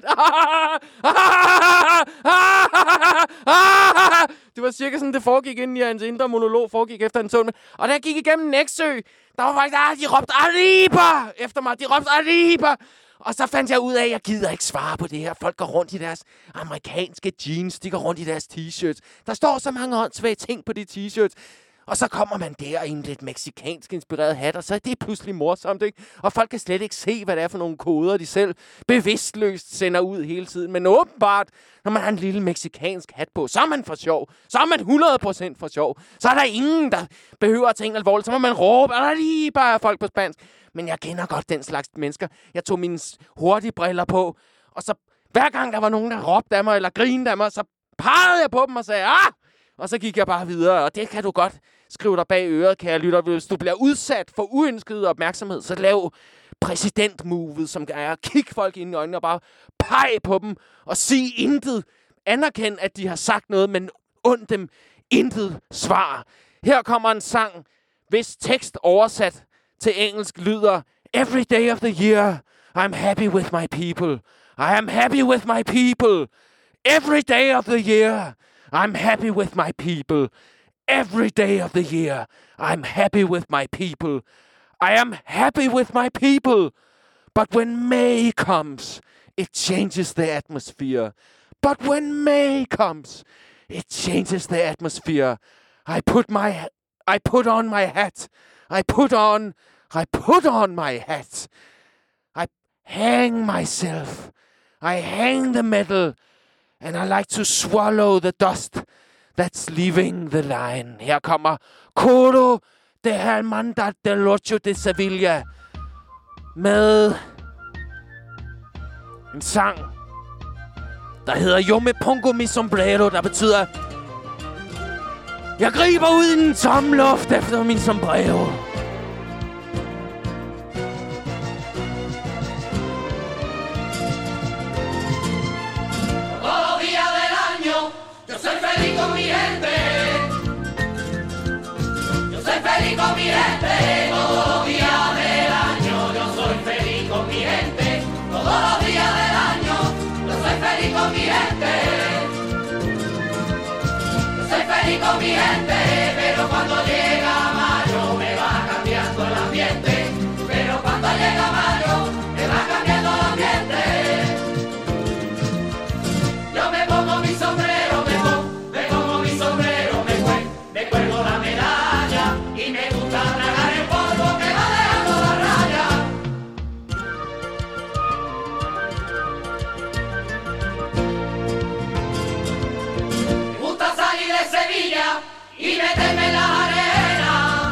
Speaker 3: Det var cirka sådan, det foregik inden i hans indre monolog, foregik efter en tog. Og da jeg gik igennem Nexø, der var faktisk, ah, de råbte Arriba efter mig, de råbte Arriba. Og så fandt jeg ud af, at jeg gider ikke svare på det her. Folk går rundt i deres amerikanske jeans, de går rundt i deres t-shirts. Der står så mange åndssvage ting på de t-shirts. Og så kommer man der i en lidt mexikansk inspireret hat, og så er det pludselig morsomt, ikke? Og folk kan slet ikke se, hvad det er for nogle koder, de selv bevidstløst sender ud hele tiden. Men åbenbart, når man har en lille mexikansk hat på, så er man for sjov. Så er man hundrede procent for sjov. Så er der ingen, der behøver at tænke alvorligt. Så må man råbe, og lige bare folk på spansk. Men jeg kender godt den slags mennesker. Jeg tog mine hurtige briller på, og så hver gang der var nogen, der råbte af mig, eller grinede af mig, så pegede jeg på dem og sagde, ah! Og så gik jeg bare videre, og det kan du godt skrive dig bag øret, kære lytter. Hvis du bliver udsat for uønsket opmærksomhed, så lav præsidentmovet, som er at kigge folk ind i øjnene og bare pege på dem og sige intet. Anerkend, at de har sagt noget, men und dem intet svar. Her kommer en sang, hvis tekst oversat til engelsk lyder, Every day of the year, I'm happy with my people. I am happy with my people. Every day of the year, I'm happy with my people. Every day of the year, I'm happy with my people. I am happy with my people. But when May comes, it changes the atmosphere. But when May comes, it changes the atmosphere. I put my, I put on my hat. I put on, I put on my hat. I hang myself. I hang the metal. And I like to swallow the dust that's leaving the line. Her kommer Coro de Hermandad del Ocho de Sevilla med en sang, der hedder Yo me pongo mi sombrero, der betyder, jeg griber ud i den tomme luft efter min sombrero.
Speaker 1: Feliz con mi gente, todos los días del año. Yo soy feliz con mi gente, todos los días del año. Yo soy feliz con mi gente. Yo soy feliz con mi gente, pero cuando llega mayo me va cambiando el ambiente. Pero cuando llega mayo me va cambiando el ambiente. Yo me pongo mi sombrero, me pongo, me pongo mi sombrero, me cuelgo, me cuelgo la medalla. Y me gusta tragar el polvo que va dejando la raya. Me gusta salir de Sevilla y meterme en la arena.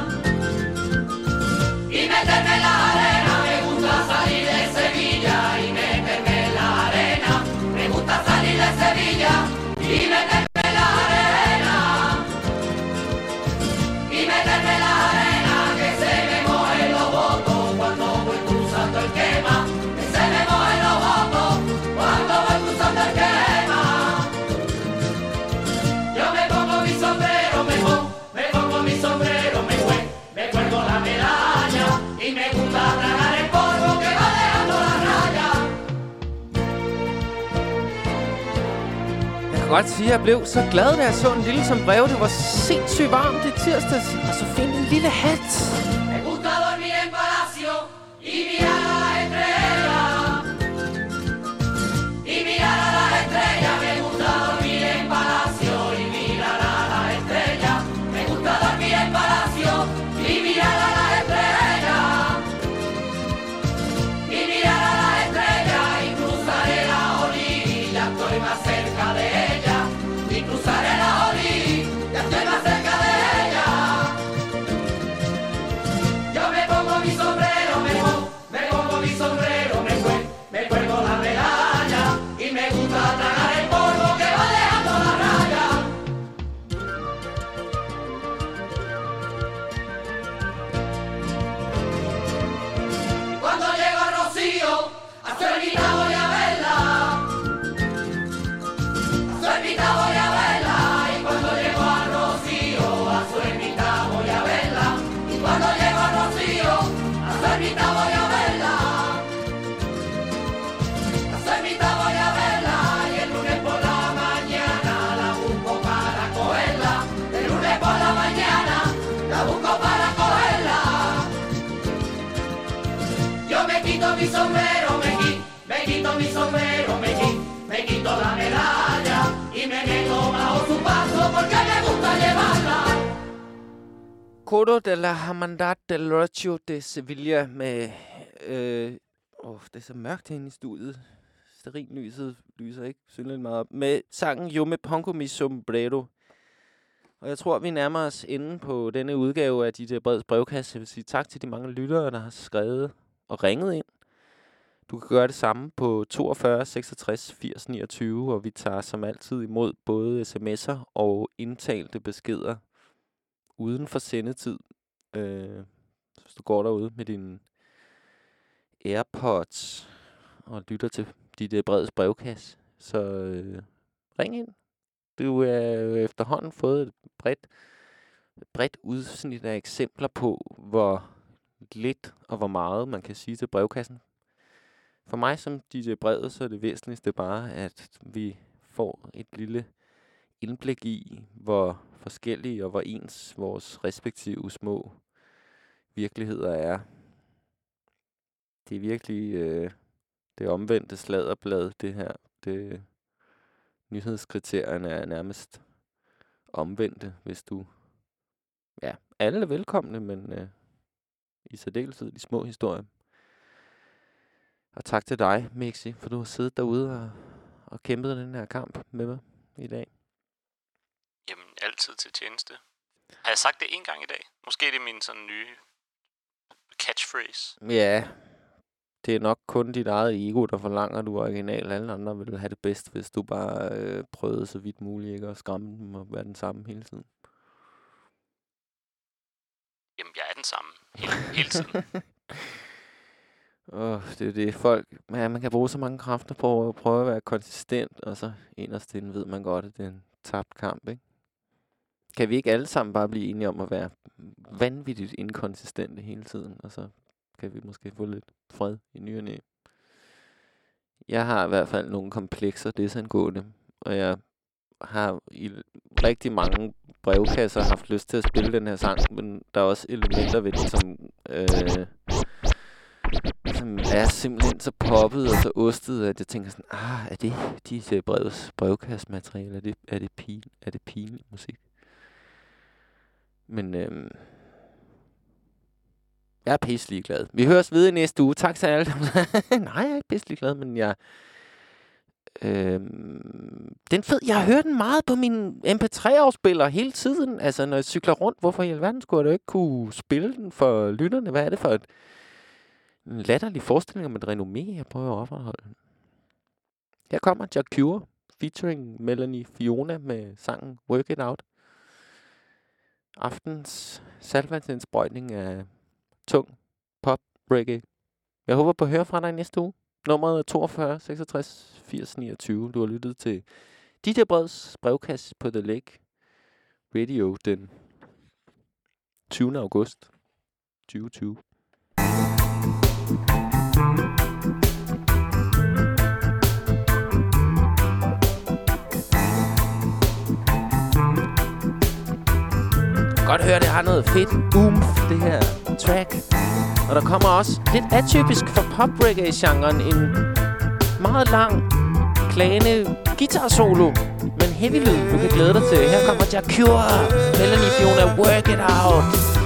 Speaker 1: Y meterme en la arena. Me gusta salir de Sevilla y meterme en la arena. Me gusta salir de Sevilla y meterme en la arena. Y meterme en la arena, que se me mojen los votos cuando voy cruzando el quema. Que se me mojen los votos cuando voy cruzando el quema. Yo me pongo mi sombrero, me pongo, me pongo mi sombrero, me cuelgo, me cuelgo la medalla. Y me gusta tragar el polvo que va dejando la raya.
Speaker 3: Jeg kan godt sige, at jeg blev så glad, da jeg så en lille sombrero. Det var sindssygt varmt i tirsdags. Og så find en lille hat.
Speaker 1: Me gusta dormir en palacio y mirar a las estrellas. Y mirar a las estrellas. Me gusta dormir en palacio y mirar a las estrellas. Me gusta dormir en palacio y mirar a las estrellas. Y mirar a las estrellas y cruzaré la orilla. Estoy más cerca de ella. Y cruzaré la orilla. Estoy más cerca de ella. Yo me pongo mi sombrero, me pongo, me pongo mi sombrero, me cuelgo, me cuelgo la medalla. Y me gusta tragar el polvo que va dejando la raya. Y cuando llego a Rocío, a su ermita voy a verla. A su ermita voy a verla. Y cuando llego a Rocío, a su ermita voy a verla. Y cuando llego a Rocío, a su ermita voy a verla. A su ermita voy a verla. Y el lunes por la mañana la busco para cogerla. El lunes por la mañana la busco para cogerla. Yo me quito mi sombrero, me quito, me quito mi sombrero, me quito, me quito la medalla. Y me meto bajo su paso porque me gusta llevarla.
Speaker 3: Coro de la Hermandad del Ocho de Sevilla med... Øh, åh, det er så mørkt herinde i studiet. Stearinlyset lyser ikke synligt meget op. Med sangen Yo me pongo mi sombrero. Og jeg tror, vi nærmer os inde på denne udgave af D J Breds brevkasse. Jeg vil sige tak til de mange lyttere, der har skrevet og ringet ind. Du kan gøre det samme på toogfyrre seksogtres firs niogtyve, og vi tager som altid imod både sms'er og indtalte beskeder uden for sendetid. Øh, hvis du går derude med dine AirPods og lytter til D J Breds brevkasse, så øh, ring ind. Du er jo efterhånden fået et bredt, bredt udsnit af eksempler på, hvor lidt og hvor meget man kan sige til brevkassen. For mig som D J Bred, så er det væsentligste bare, at vi får et lille indblik i, hvor forskellige og hvor ens vores respektive små virkeligheder er. Det er virkelig, øh, det omvendte sladderblad, det her. Det, nyhedskriterierne er nærmest omvendte, hvis du... Ja, alle er velkomne, men øh, i særdeleshed de små historier. Og tak til dig, Mixi, for du har siddet derude og, og kæmpet den her kamp med mig i dag.
Speaker 2: Jamen, altid til tjeneste. Har jeg sagt det en gang i dag? Måske er det min sådan nye catchphrase.
Speaker 3: Ja, det er nok kun dit eget ego, der forlanger, at du er original. Alle andre vil have det bedst, hvis du bare øh, prøvede så vidt muligt ikke at skræmme dem og være den samme hele tiden.
Speaker 2: Jamen, jeg er den samme hele, hele tiden.
Speaker 3: Åh, oh, det er det. Folk, ja, man kan bruge så mange kræfter på at prøve at være konsistent, og så inderst inden ved man godt, at det er en tabt kamp, ikke? Kan vi ikke alle sammen bare blive enige om at være vanvittigt inkonsistente hele tiden, og så kan vi måske få lidt fred i ny og næ. Jeg har i hvert fald nogle komplekser desangående, og jeg har i rigtig mange brevkasser haft lyst til at spille den her sang, men der er også elementer ved den, som, øh, som er simpelthen så poppet og så ostet, at jeg tænker sådan, ah, er det de brevs, brevkassemateriale? Er det, er det, pin, er det pinlig musik? Men øh, jeg er pisselig glad. Vi høres ved i næste uge. Tak til alle. Nej, jeg er ikke pisselig glad, men jeg... Øhm, den fed, jeg har hørt den meget på min M P tre-afspiller hele tiden. Altså, når jeg cykler rundt, hvorfor i alverden skulle jeg da ikke kunne spille den for lytterne? Hvad er det for et, en latterlig forestilling om et renommé, jeg prøver at opretholde? Her kommer Jack Cure featuring Melanie Fiona med sangen Work It Out. Aftens saltvandsindsprøjtning af tung pop reggae. Jeg håber på at høre fra dig næste uge. Nummeret er toogfyrre seksogtres firs niogtyve. Du har lyttet til D J Breds brevkasse på The Lake Radio den tyvende august tyve tyve. Godt høre, det har noget fedt boom, det her track. Og der kommer også lidt atypisk for pop-reggae-genren en meget lang, klagende guitar-solo, men heavy lyd, du kan glæde dig til. Her kommer Jack Cure, Melanie Fiona, Work It Out.